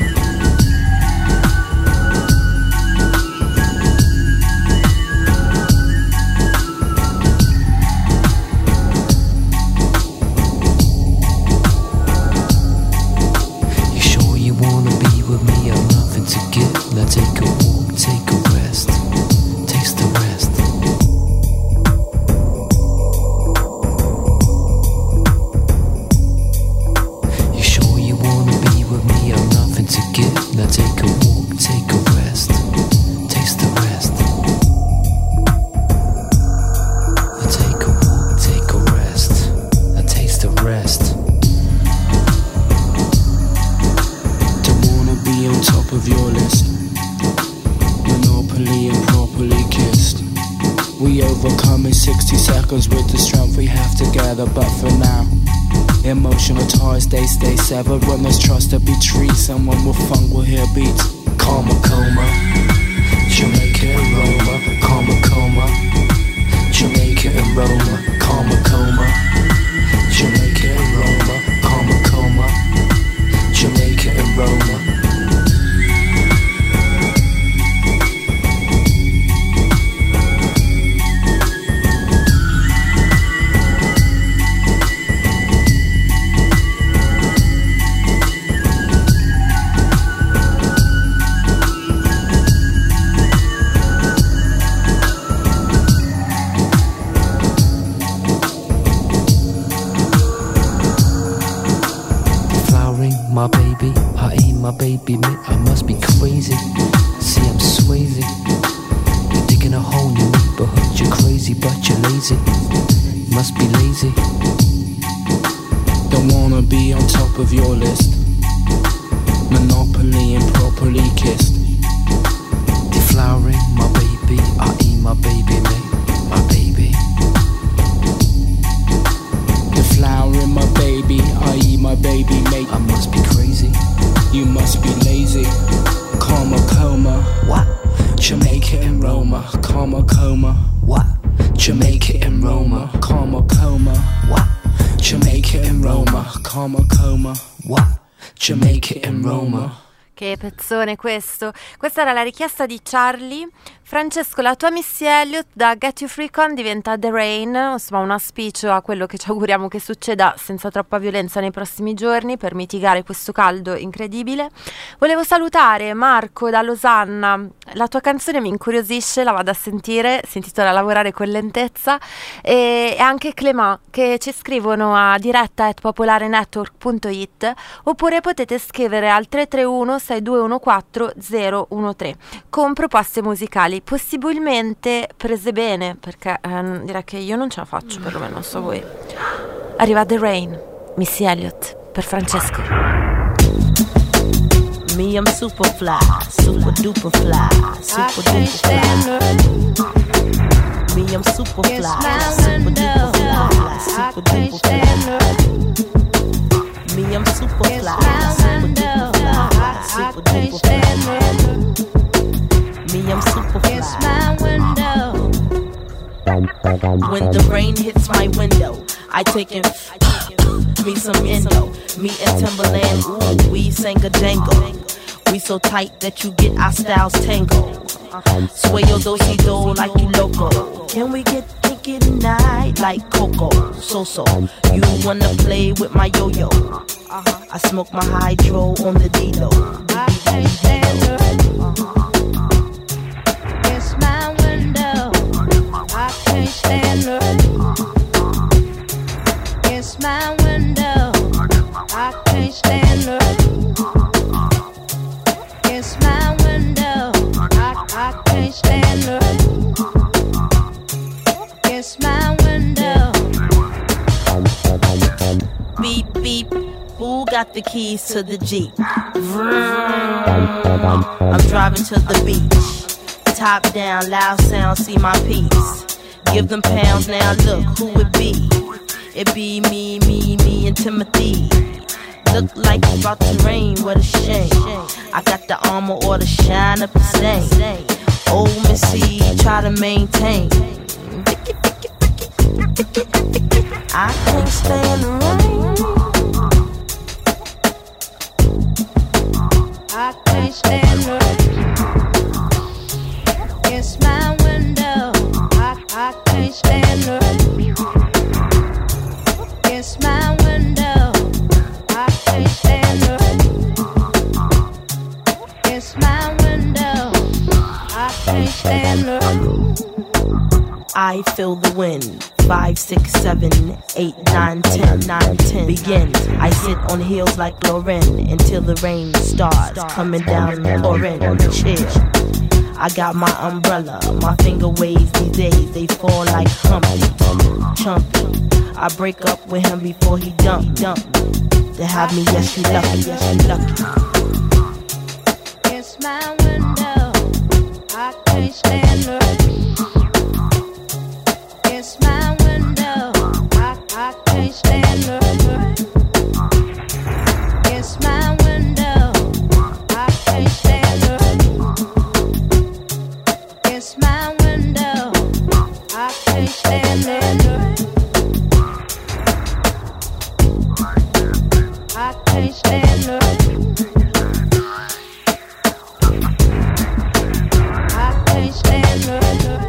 V: Now take a walk, take a rest, taste the rest. You sure you wanna be with me? I'm nothing to give. Now take a walk, take a rest, taste the rest. Now take a walk, take a rest, and taste the rest. Don't wanna be on top of your list. And properly kissed. We overcome in 60 seconds with the strength we have together. But for now, emotional ties, they stay severed. When there's trust to be treated, someone with funk will hear beats. Karma coma, Jamaica and Roma. Karma coma, Jamaica and Roma. Karma coma, Jamaica and Roma. Karma coma, Jamaica and Roma. My baby, I ain't my baby, mate, I must be crazy. See, I'm Swayze. You're digging a hole in your neighborhood. You're crazy, but you're lazy. Must be lazy.
U: Don't wanna be on top of your list. Monopoly and properly kissed.
V: Deflowering, my baby, I ain't my baby, mate, my baby.
U: Deflowering, my baby, I eat my baby, mate.
V: I must be crazy.
U: You must be lazy. Karma coma.
V: What?
U: Jamaica and Roma. Karma coma.
V: What?
U: Jamaica and Roma. Karma coma.
V: What?
U: Jamaica and Roma. Karma coma.
V: What?
U: Jamaica and Roma.
A: Che pezzone questo. Questa era la richiesta di Charlie. Francesco, la tua Missy Elliott da Get You Free Con diventa The Rain, insomma un auspicio a quello che ci auguriamo che succeda senza troppa violenza nei prossimi giorni per mitigare questo caldo incredibile. Volevo salutare Marco da Losanna, la tua canzone mi incuriosisce, la vado a sentire, si intitola Lavorare con lentezza, e anche Clément che ci scrivono a diretta@popolarenetwork.it oppure potete scrivere al 331 6214 013 con proposte musicali, possibilmente prese bene, perché direi che io non ce la faccio, perlomeno non so voi. Arriva The Rain, Missy Elliott per Francesco.
E: Me, I'm super fly, super duper fly, super duper fly. Me, I'm super fly, super duper fly, super duper fly. Me, I'm super fly, super duper fly, super duper fly. Me, I'm super fly. When the rain hits my window, I take in me some endo. Me and Timberland, ooh, we sang a jangle. We so tight that you get our styles tangled. Sway your do-si-do like you loco. Can we get kinky tonight like Coco? So, you wanna play with my yo-yo? I smoke my hydro on the D-Lo. I can't stand her. It's my window. I can't stand her. It's my window. I can't stand her. It's my window. I can't stand her. It's my window. Beep beep. Who got the keys to the Jeep? Vroom. I'm driving to the beach. Top down, loud sound, see my piece. Give them pounds, now look who it be. It be me and Timothy. Look like it's about to rain, what a shame. I got the armor or the shine up the same. Old Missy, try to maintain. I can't stand the rain.
F: I can't stand the rain. Against my window. I can't stand the rain. Against my window. I can't stand the rain. Against my window. I can't stand the rain.
E: I feel the wind. 5, 6, 7, 8, 9, 10, 9, 10. Begin. I sit on heels like Lauren until the rain starts coming down, pouring on the chair. I got my umbrella, my finger waves these days, they fall like Humpty, Chumpy. I break up with him before he dump. To have me, yes, you lucky.
F: Against my window, I can't stand the rain. Against my window, I can't stand the rain. Against my window, I can't stand the rain. Against my window, I can't stand the rain. I can't stand the rain. I can't stand the rain.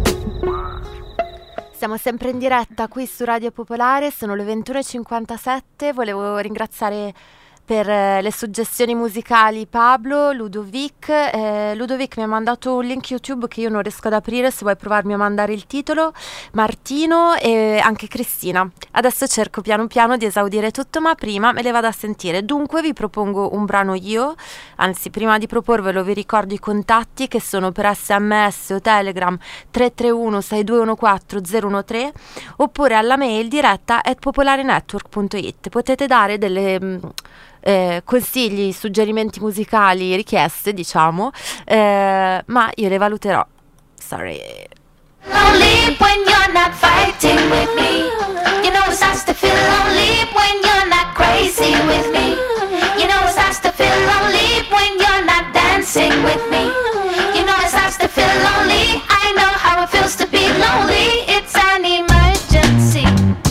A: Siamo sempre in diretta qui su Radio Popolare, sono le 21:57, volevo ringraziare per le suggestioni musicali Pablo, Ludovic. Ludovic mi ha mandato un link YouTube che io non riesco ad aprire, se vuoi provarmi a mandare il titolo, Martino e anche Cristina. Adesso cerco piano piano di esaudire tutto, ma prima me le vado a sentire. Dunque vi propongo un brano io, anzi prima di proporvelo vi ricordo i contatti che sono per SMS o Telegram 331 6214 013 oppure alla mail diretta@popolarenetwork.it. Potete dare delle consigli, suggerimenti musicali, richieste, diciamo, ma io le valuterò. Sorry.
Q: Lonely when you're not fighting with me. You know it's nice to feel lonely when you're not crazy with me. You know it's nice to feel lonely when you're not dancing with me. You know it's nice to feel lonely. I know how it feels to be lonely. It's an emergency.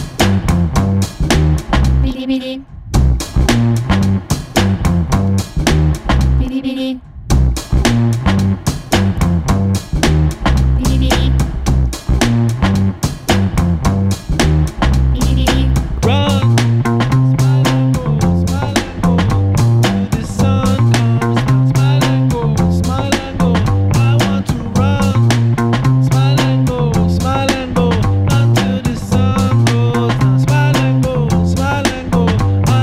Q: Bidi bidi. Bidi bidi.
C: Smile and go.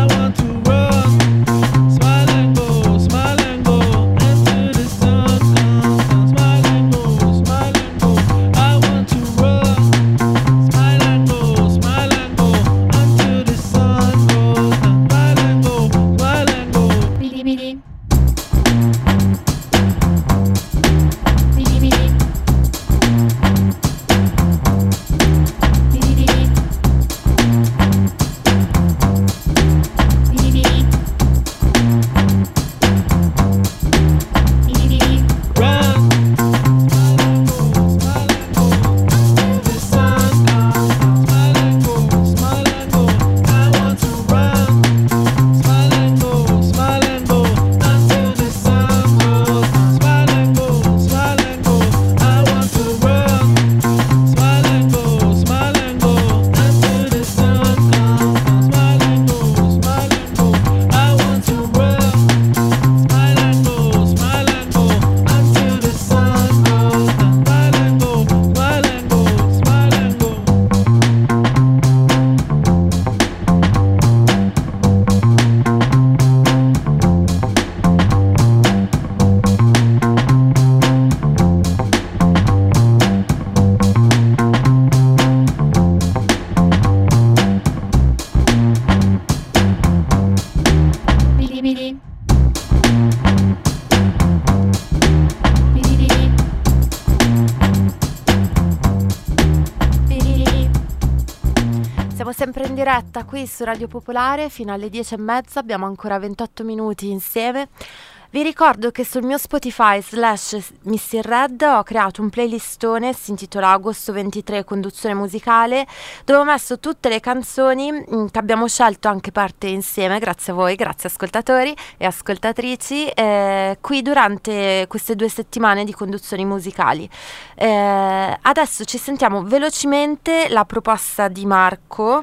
A: diretta qui su Radio Popolare fino alle 10:30, abbiamo ancora 28 minuti insieme. Vi ricordo che sul mio Spotify /Missy Red ho creato un playlistone, si intitola Agosto 23 Conduzione Musicale, dove ho messo tutte le canzoni che abbiamo scelto anche parte insieme, grazie a voi, grazie ascoltatori e ascoltatrici, qui durante queste 2 settimane di conduzioni musicali. Adesso ci sentiamo velocemente la proposta di Marco.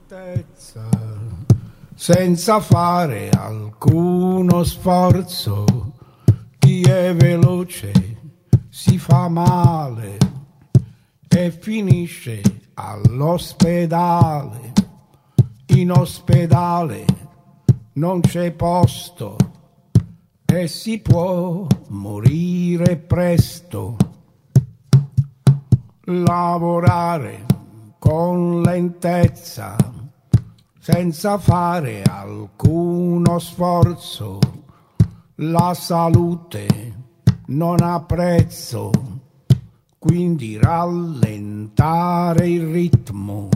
G: Senza fare alcuno sforzo, chi è veloce si fa male e finisce all'ospedale. In ospedale non c'è posto e si può morire presto. Lavorare con lentezza senza fare alcuno sforzo, la salute non ha prezzo, quindi rallentare il ritmo.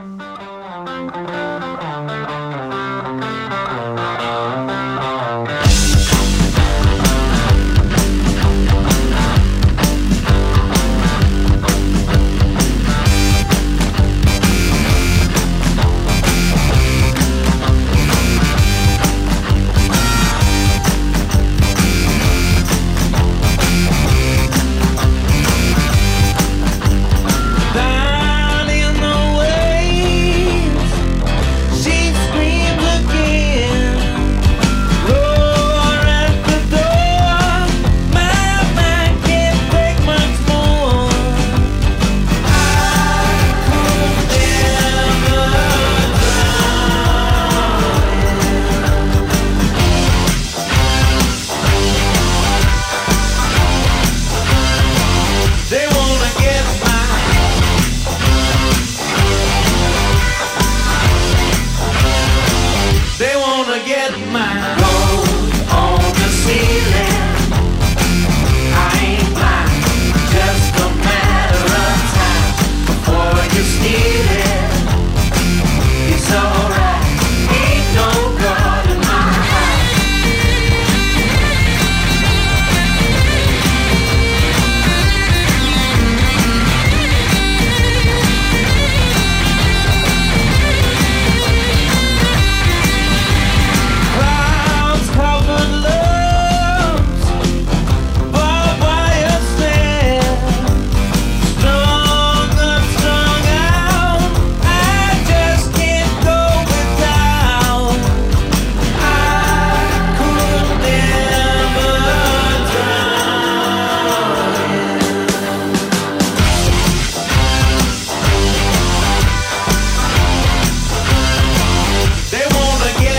B: Down in the waves, she screams again. Roar at the door, my mind can't take much more. I could never drown. They wanna get They wanna get mine. Gold on the ceiling. I ain't blind, just a matter of time before you steal it. It's alright, ain't no God in my Clouds covered loves, barbed wire stand, strung up, strung out. I just can't go without. I could never drown. They wanna get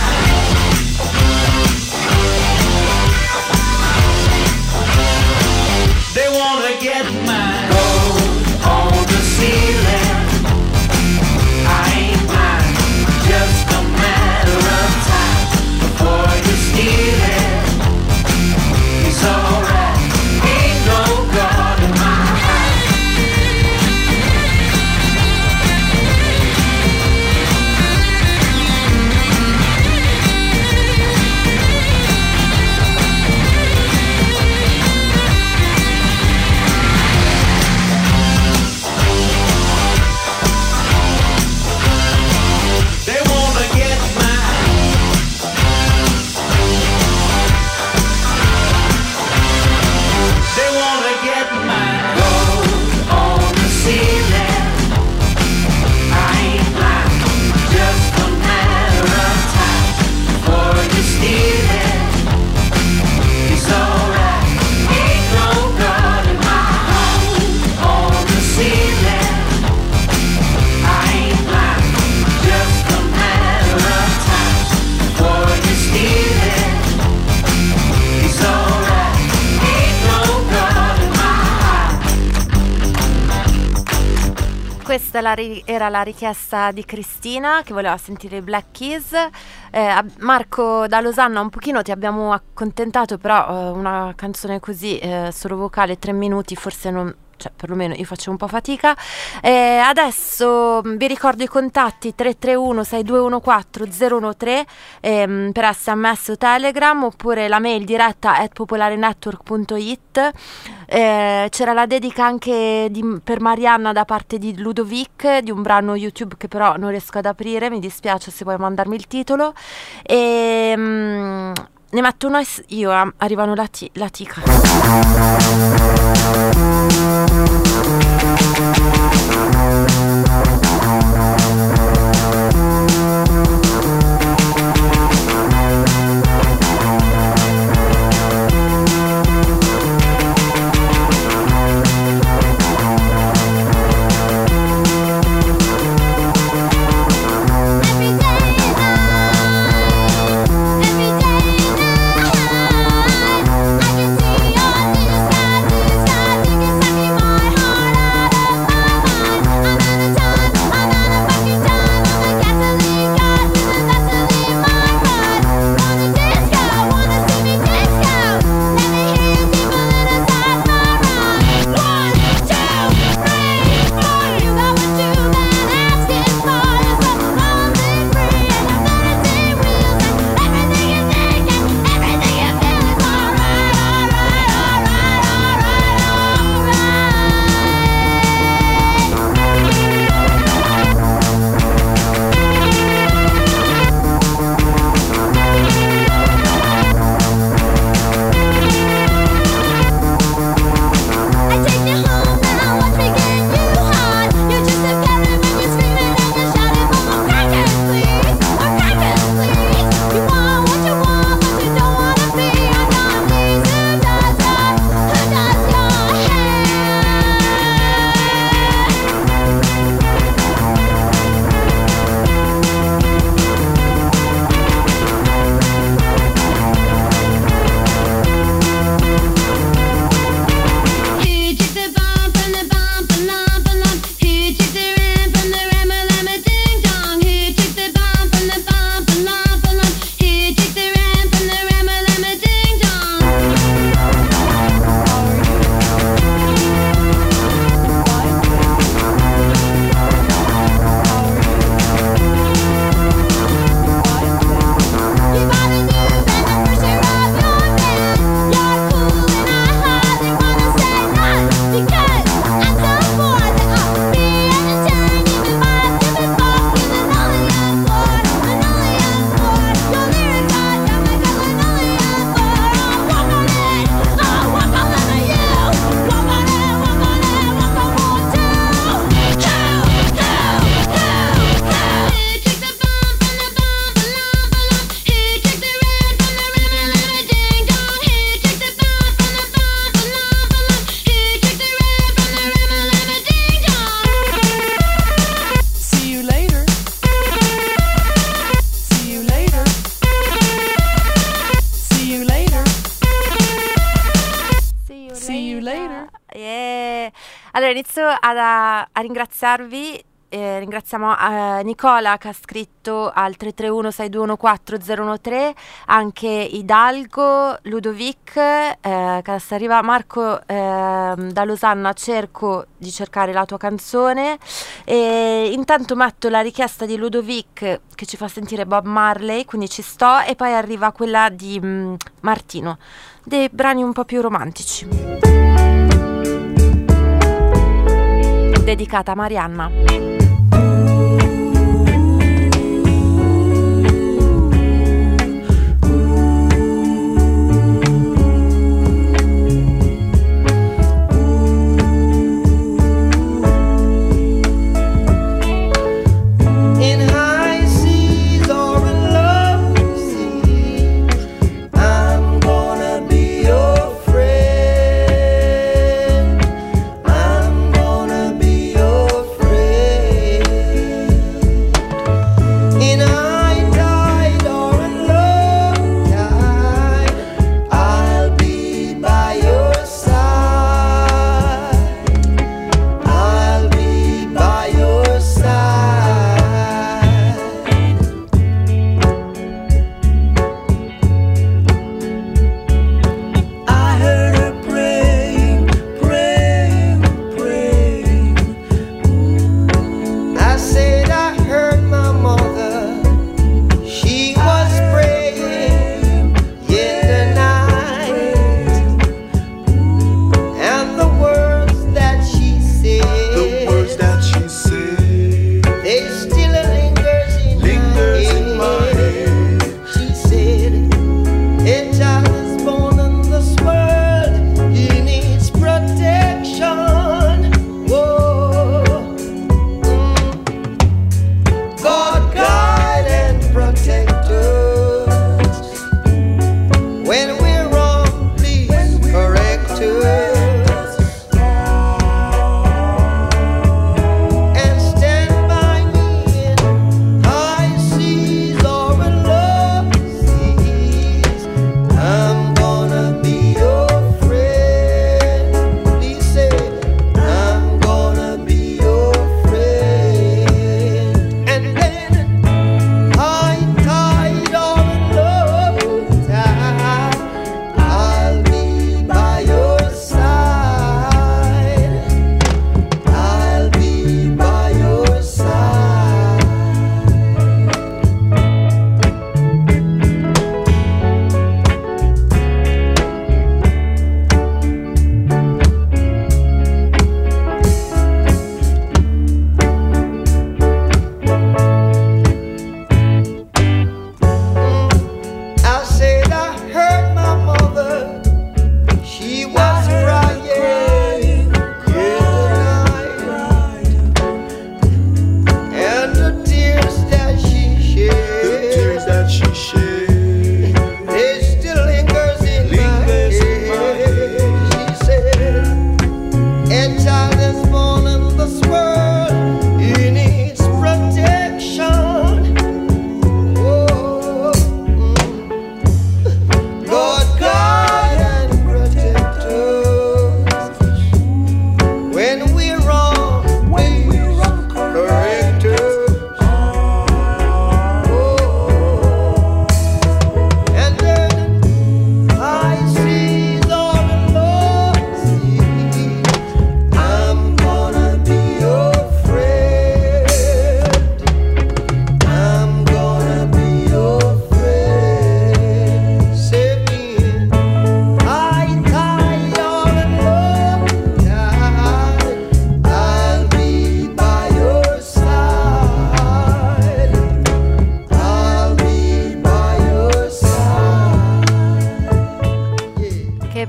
B: They wanna get mine. Gold on the ceiling. I ain't blind, just a matter of time before you steal it. It's alright, ain't no God in my They wanna get They wanna get mine. Gold on the ceiling. I ain't blind, just a matter of time before you steal it. It's alright, ain't no God in my home on the ceiling. I ain't blind, just a matter of time before you steal it. It's alright, ain't no God in my
A: Questa era la richiesta di Cristina, che voleva sentire i Black Keys. Marco da Losanna, un pochino ti abbiamo accontentato, però una canzone così solo vocale, 3 minuti, forse non cioè perlomeno io faccio un po' fatica. Adesso vi ricordo i contatti: 331 6214 013 per SMS o Telegram, oppure la mail diretta @popolarenetwork.it. C'era la dedica anche per Marianna da parte di Ludovic, di un brano YouTube che però non riesco ad aprire, mi dispiace, se puoi mandarmi il titolo. Ne metto uno io, arrivano la tica. Allora inizio a ringraziarvi. Ringraziamo Nicola che ha scritto al 331 6214 013, anche Hidalgo, Ludovic che adesso arriva, Marco da Losanna. Cerco di cercare la tua canzone e intanto metto la richiesta di Ludovic che ci fa sentire Bob Marley, quindi ci sto, e poi arriva quella di Martino, dei brani un po' più romantici, dedicata a Marianna.
B: Friend.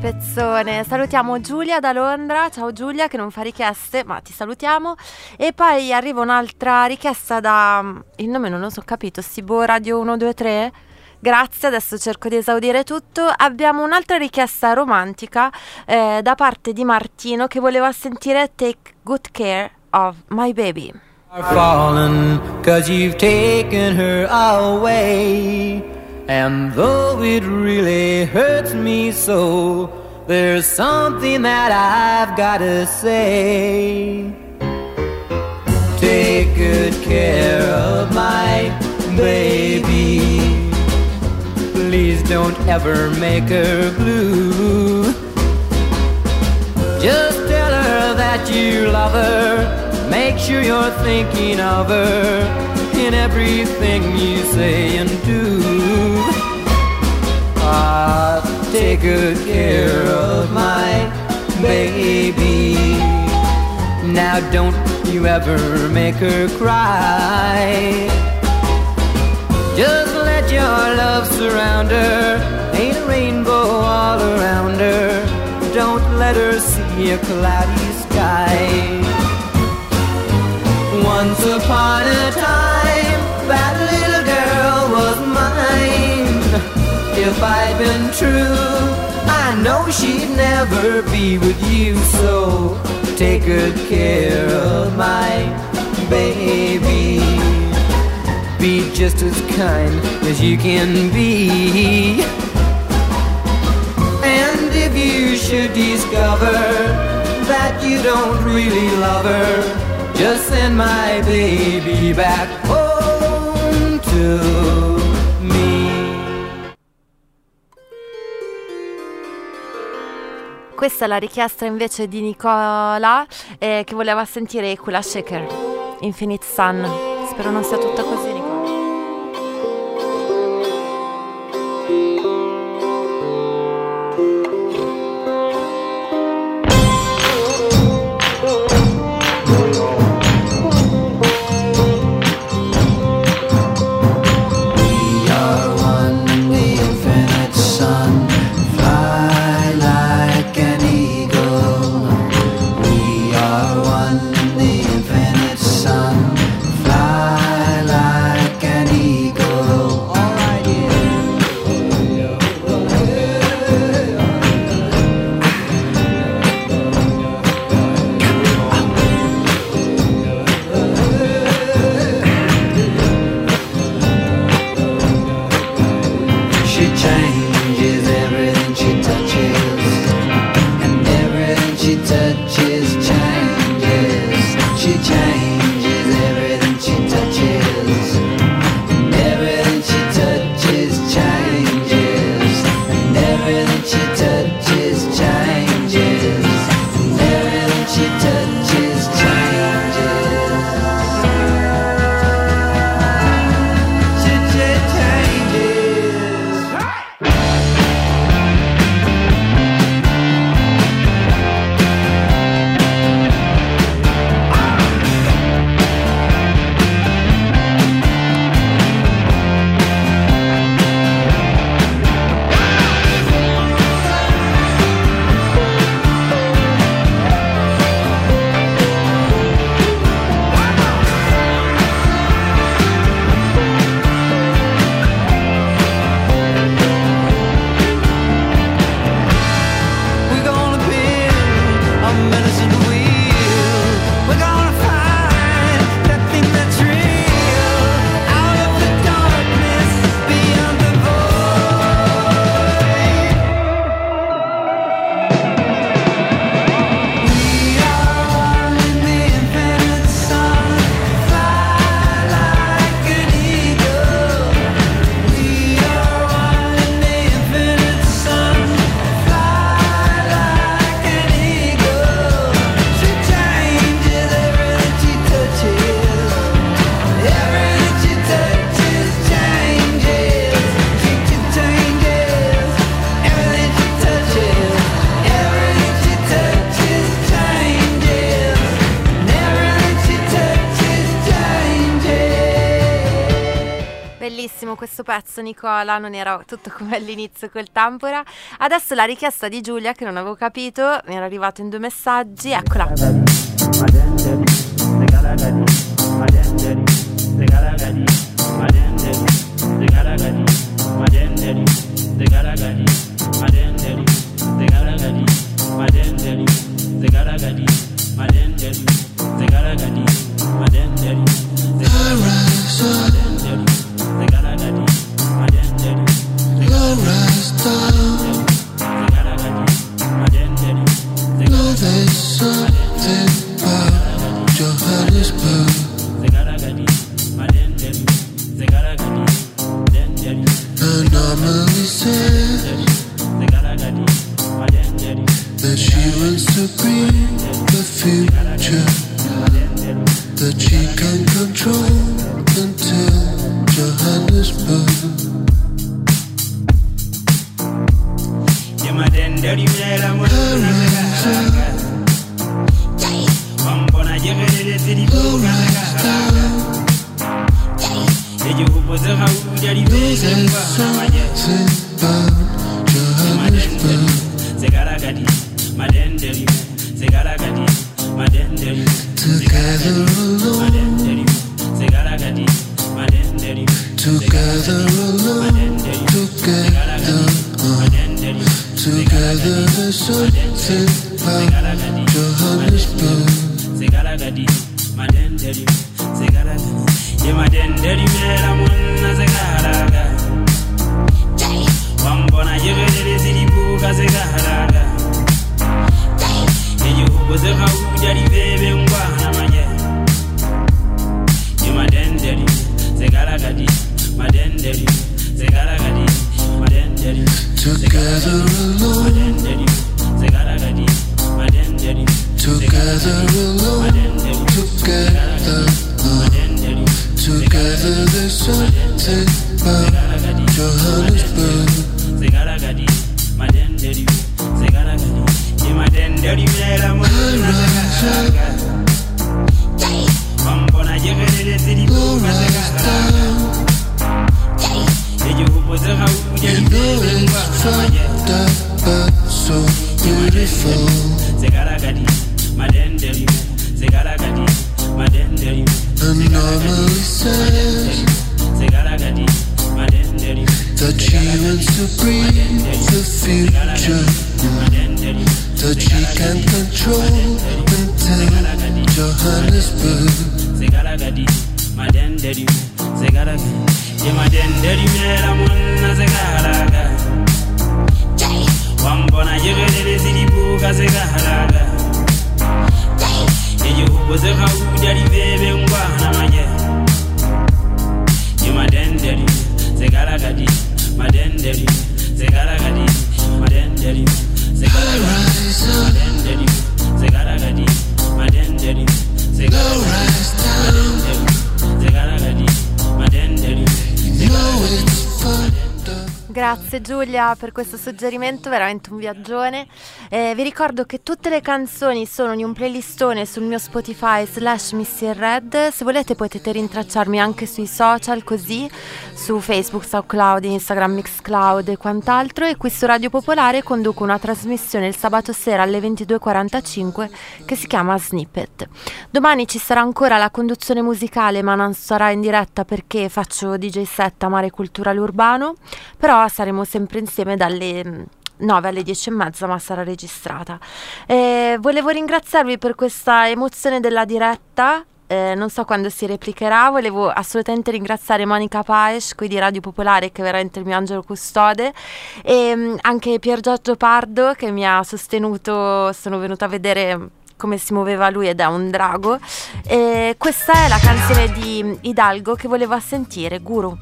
A: pezzone. Salutiamo Giulia da Londra. Ciao Giulia, che non fa richieste, ma ti salutiamo. E poi arriva un'altra richiesta da... il nome non lo so, capito, Sibo Radio 123. Grazie, adesso cerco di esaudire tutto. Abbiamo un'altra richiesta romantica da parte di Martino, che voleva sentire Take Good Care of My Baby.
D: Fallen 'cause you've taken her away, and though it really hurts me so, there's something that I've gotta say. Take good care of my baby, please don't ever make her blue. Just tell her that you love her, make sure you're thinking of her in everything you say and do. Ah, take good care of my baby. Now don't you ever make her cry. Just let your love surround her, ain't a rainbow all around her. Don't let her see a cloudy sky. Once upon a time, that little girl was mine. If I'd been true, I know she'd never be with you. So take good care of my baby. Be just as kind as you can be. And if you should discover that you don't really love her, just send my baby back home to me.
A: Questa è la richiesta invece di Nicola, che voleva sentire Kula Shaker, Infinite Sun. Spero non sia tutta così, Nicola.
D: Fly like
A: Bellissimo questo pezzo, Nicola, non era tutto come all'inizio col Tampora. Adesso la richiesta di Giulia, che non avevo capito, mi era arrivato in 2 messaggi, eccola.
H: Anomaly said that she wants to bring the future that she can control until Johannesburg. Together there's something about Johannesburg. Together alone, together alone, together there's something about Johannesburg. You know it's fucked up but so beautiful. Anomaly says that she wants to bring the future that she can control until Johannesburg.
A: Grazie Giulia per questo suggerimento, veramente un viaggione. Vi ricordo che tutte le canzoni sono in un playlistone sul mio Spotify /MissyRed. Se volete potete rintracciarmi anche sui social, così su Facebook, SoundCloud, Instagram, Mixcloud e quant'altro. E qui su Radio Popolare conduco una trasmissione il sabato sera alle 22:45 che si chiama Snippet. Domani ci sarà ancora la conduzione musicale, ma non sarà in diretta perché faccio DJ set a Mare Culturale Urbano, però saremo sempre insieme dalle 9 alle 10:30, ma sarà registrata. Volevo ringraziarvi per questa emozione della diretta. Non so quando si replicherà. Volevo assolutamente ringraziare Monica Paes qui di Radio Popolare, che è veramente il mio angelo custode, e anche Pier Giorgio Pardo che mi ha sostenuto. Sono venuta a vedere come si muoveva lui ed è un drago. Questa è la canzone di Hidalgo che voleva sentire, Guru.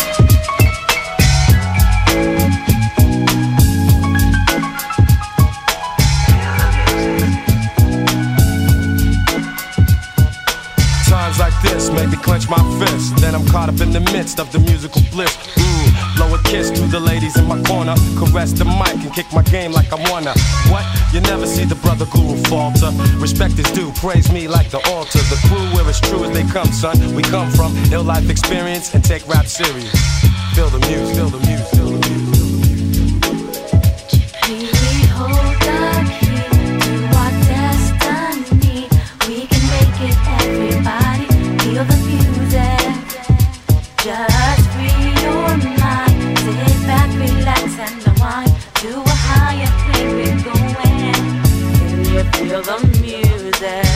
I: Times like this make me clench my fist. Then I'm caught up in the midst of the musical bliss. Blow a kiss to the ladies in my corner, caress the mic and kick my game like I wanna. What? You never see the brother guru falter. Respect is due, praise me like the altar. The crew where it's true as they come, son. We come from ill life experience and take rap serious. Feel the music, feel the music, feel the music.
F: We hold the key to our destiny. We can make it, everybody. Feel the music. Just free your mind. Sit back, relax, and unwind. To a higher plane we're going. Can you feel the music?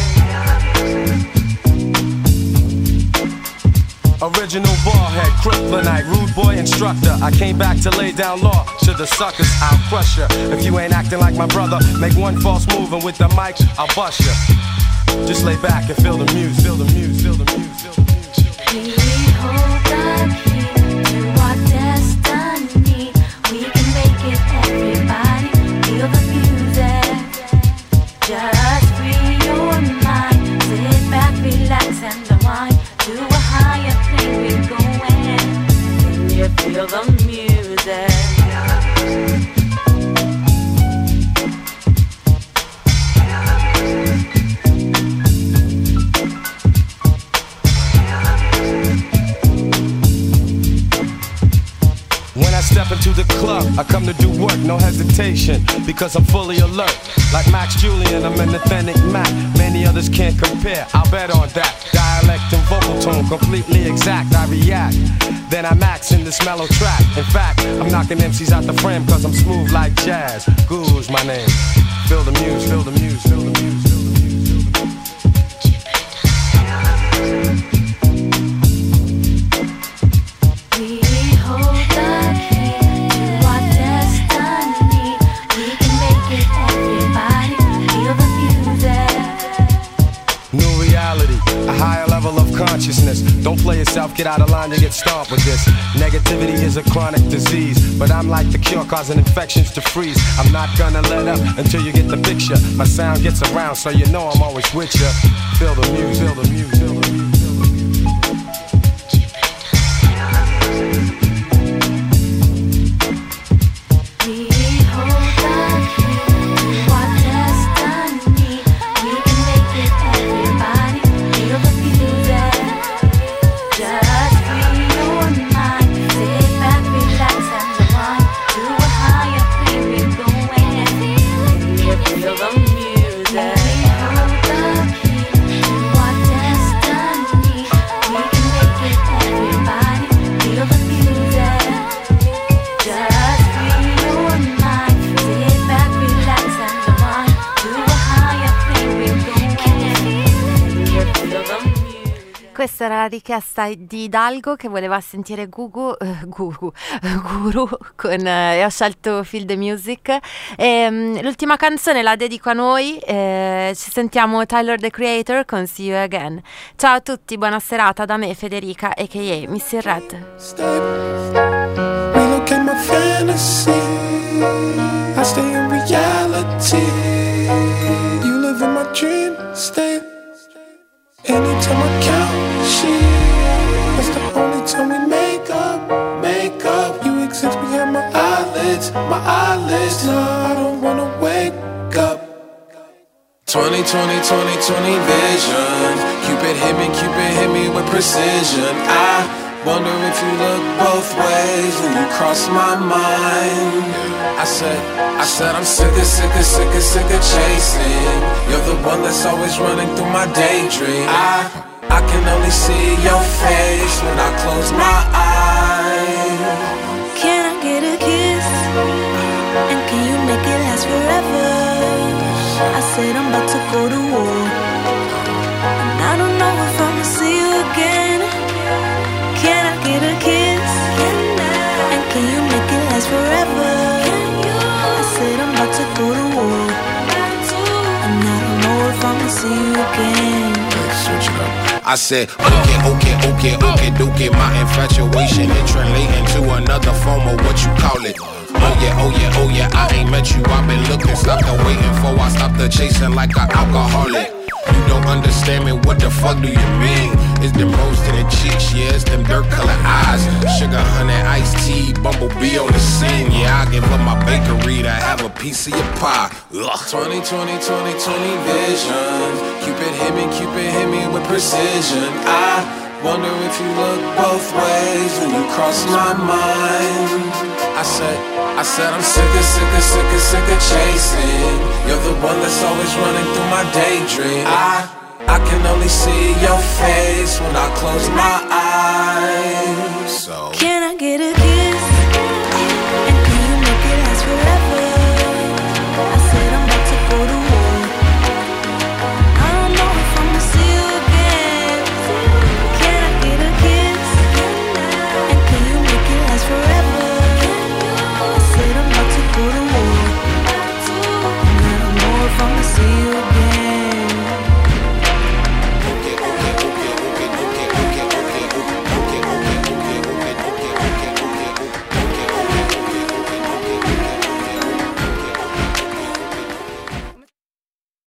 I: Original ballhead, kryptonite, rude boy instructor. I came back to lay down law to the suckers. I'll crush ya. If you ain't acting like my brother, make one false move and with the mic, I'll bust ya. Just lay back and feel the music, feel the music, feel the music, feel the music.
F: We hold the key to our destiny. We can make it, everybody. Feel the music. Just free your mind. Sit back, relax, and unwind. To a higher plane we're going. Can you feel the music?
I: When I step into the club, I come to do work, no hesitation, because I'm fully alert. Like Max Julian, I'm an authentic Mac. Many others can't compare, I'll bet on that. Dialect and vocal tone, completely exact, I react. Then I max in this mellow track. In fact, I'm knocking MCs out the frame, cause I'm smooth like jazz. Guru's my name. Feel the music, feel the music, feel the music, feel the music. A higher level of consciousness. Don't play yourself, get out of line, you get stomped with this. Negativity is a chronic disease, but I'm like the cure, causing infections to freeze. I'm not gonna let up until you get the picture. My sound gets around, so you know I'm always with ya. Feel the music, feel the music, feel the music.
A: Questa era la richiesta di Hidalgo che voleva sentire Guru con, e ho scelto Feel the Music. L'ultima canzone la dedico a noi, ci sentiamo Tyler the Creator con See You Again. Ciao a tutti, buona serata da me Federica a.k.a. Missy Red.
C: Relook at my fantasy, I stay in reality. You live in my dream state. Anytime I count sheep, that's the only time we make up. You exist behind my eyelids. No, I don't wanna wake up.
B: 20, 20, 20, 20 vision. Cupid hit me with precision. I wonder if you look both ways when you cross my mind. I said I'm sick of chasing. You're the one that's always running through my daydream. I can only see your face when I close my eyes.
F: Can I get a kiss? And can you make it last forever? I said I'm about to go to war, and I don't know if I'ma see you again. Can I get a kiss? And can you make it last forever? I said I'm about to go to war, and I don't know if I'ma see you again.
B: Let's switch it up. I said, okay, dookie. My infatuation is translating to another form of what you call it. Oh yeah, I ain't met you, I've been looking. Stop the waiting for, I stop the chasing like an alcoholic. You don't understand me, what the fuck do you mean? It's them rose to the cheeks, yeah, it's them dirt colored eyes. Sugar, honey, iced tea, bumblebee on the scene. Yeah, I get
J: give up my bakery to have a piece of your pie. Ugh. 20, 20, 20, 20 vision. Cupid hit me with precision. I wonder if you look both ways when you cross my mind. I said I'm sick of chasing. You're the one that's always running through my daydream. I can only see your face when I close my eyes. So
L: can I get a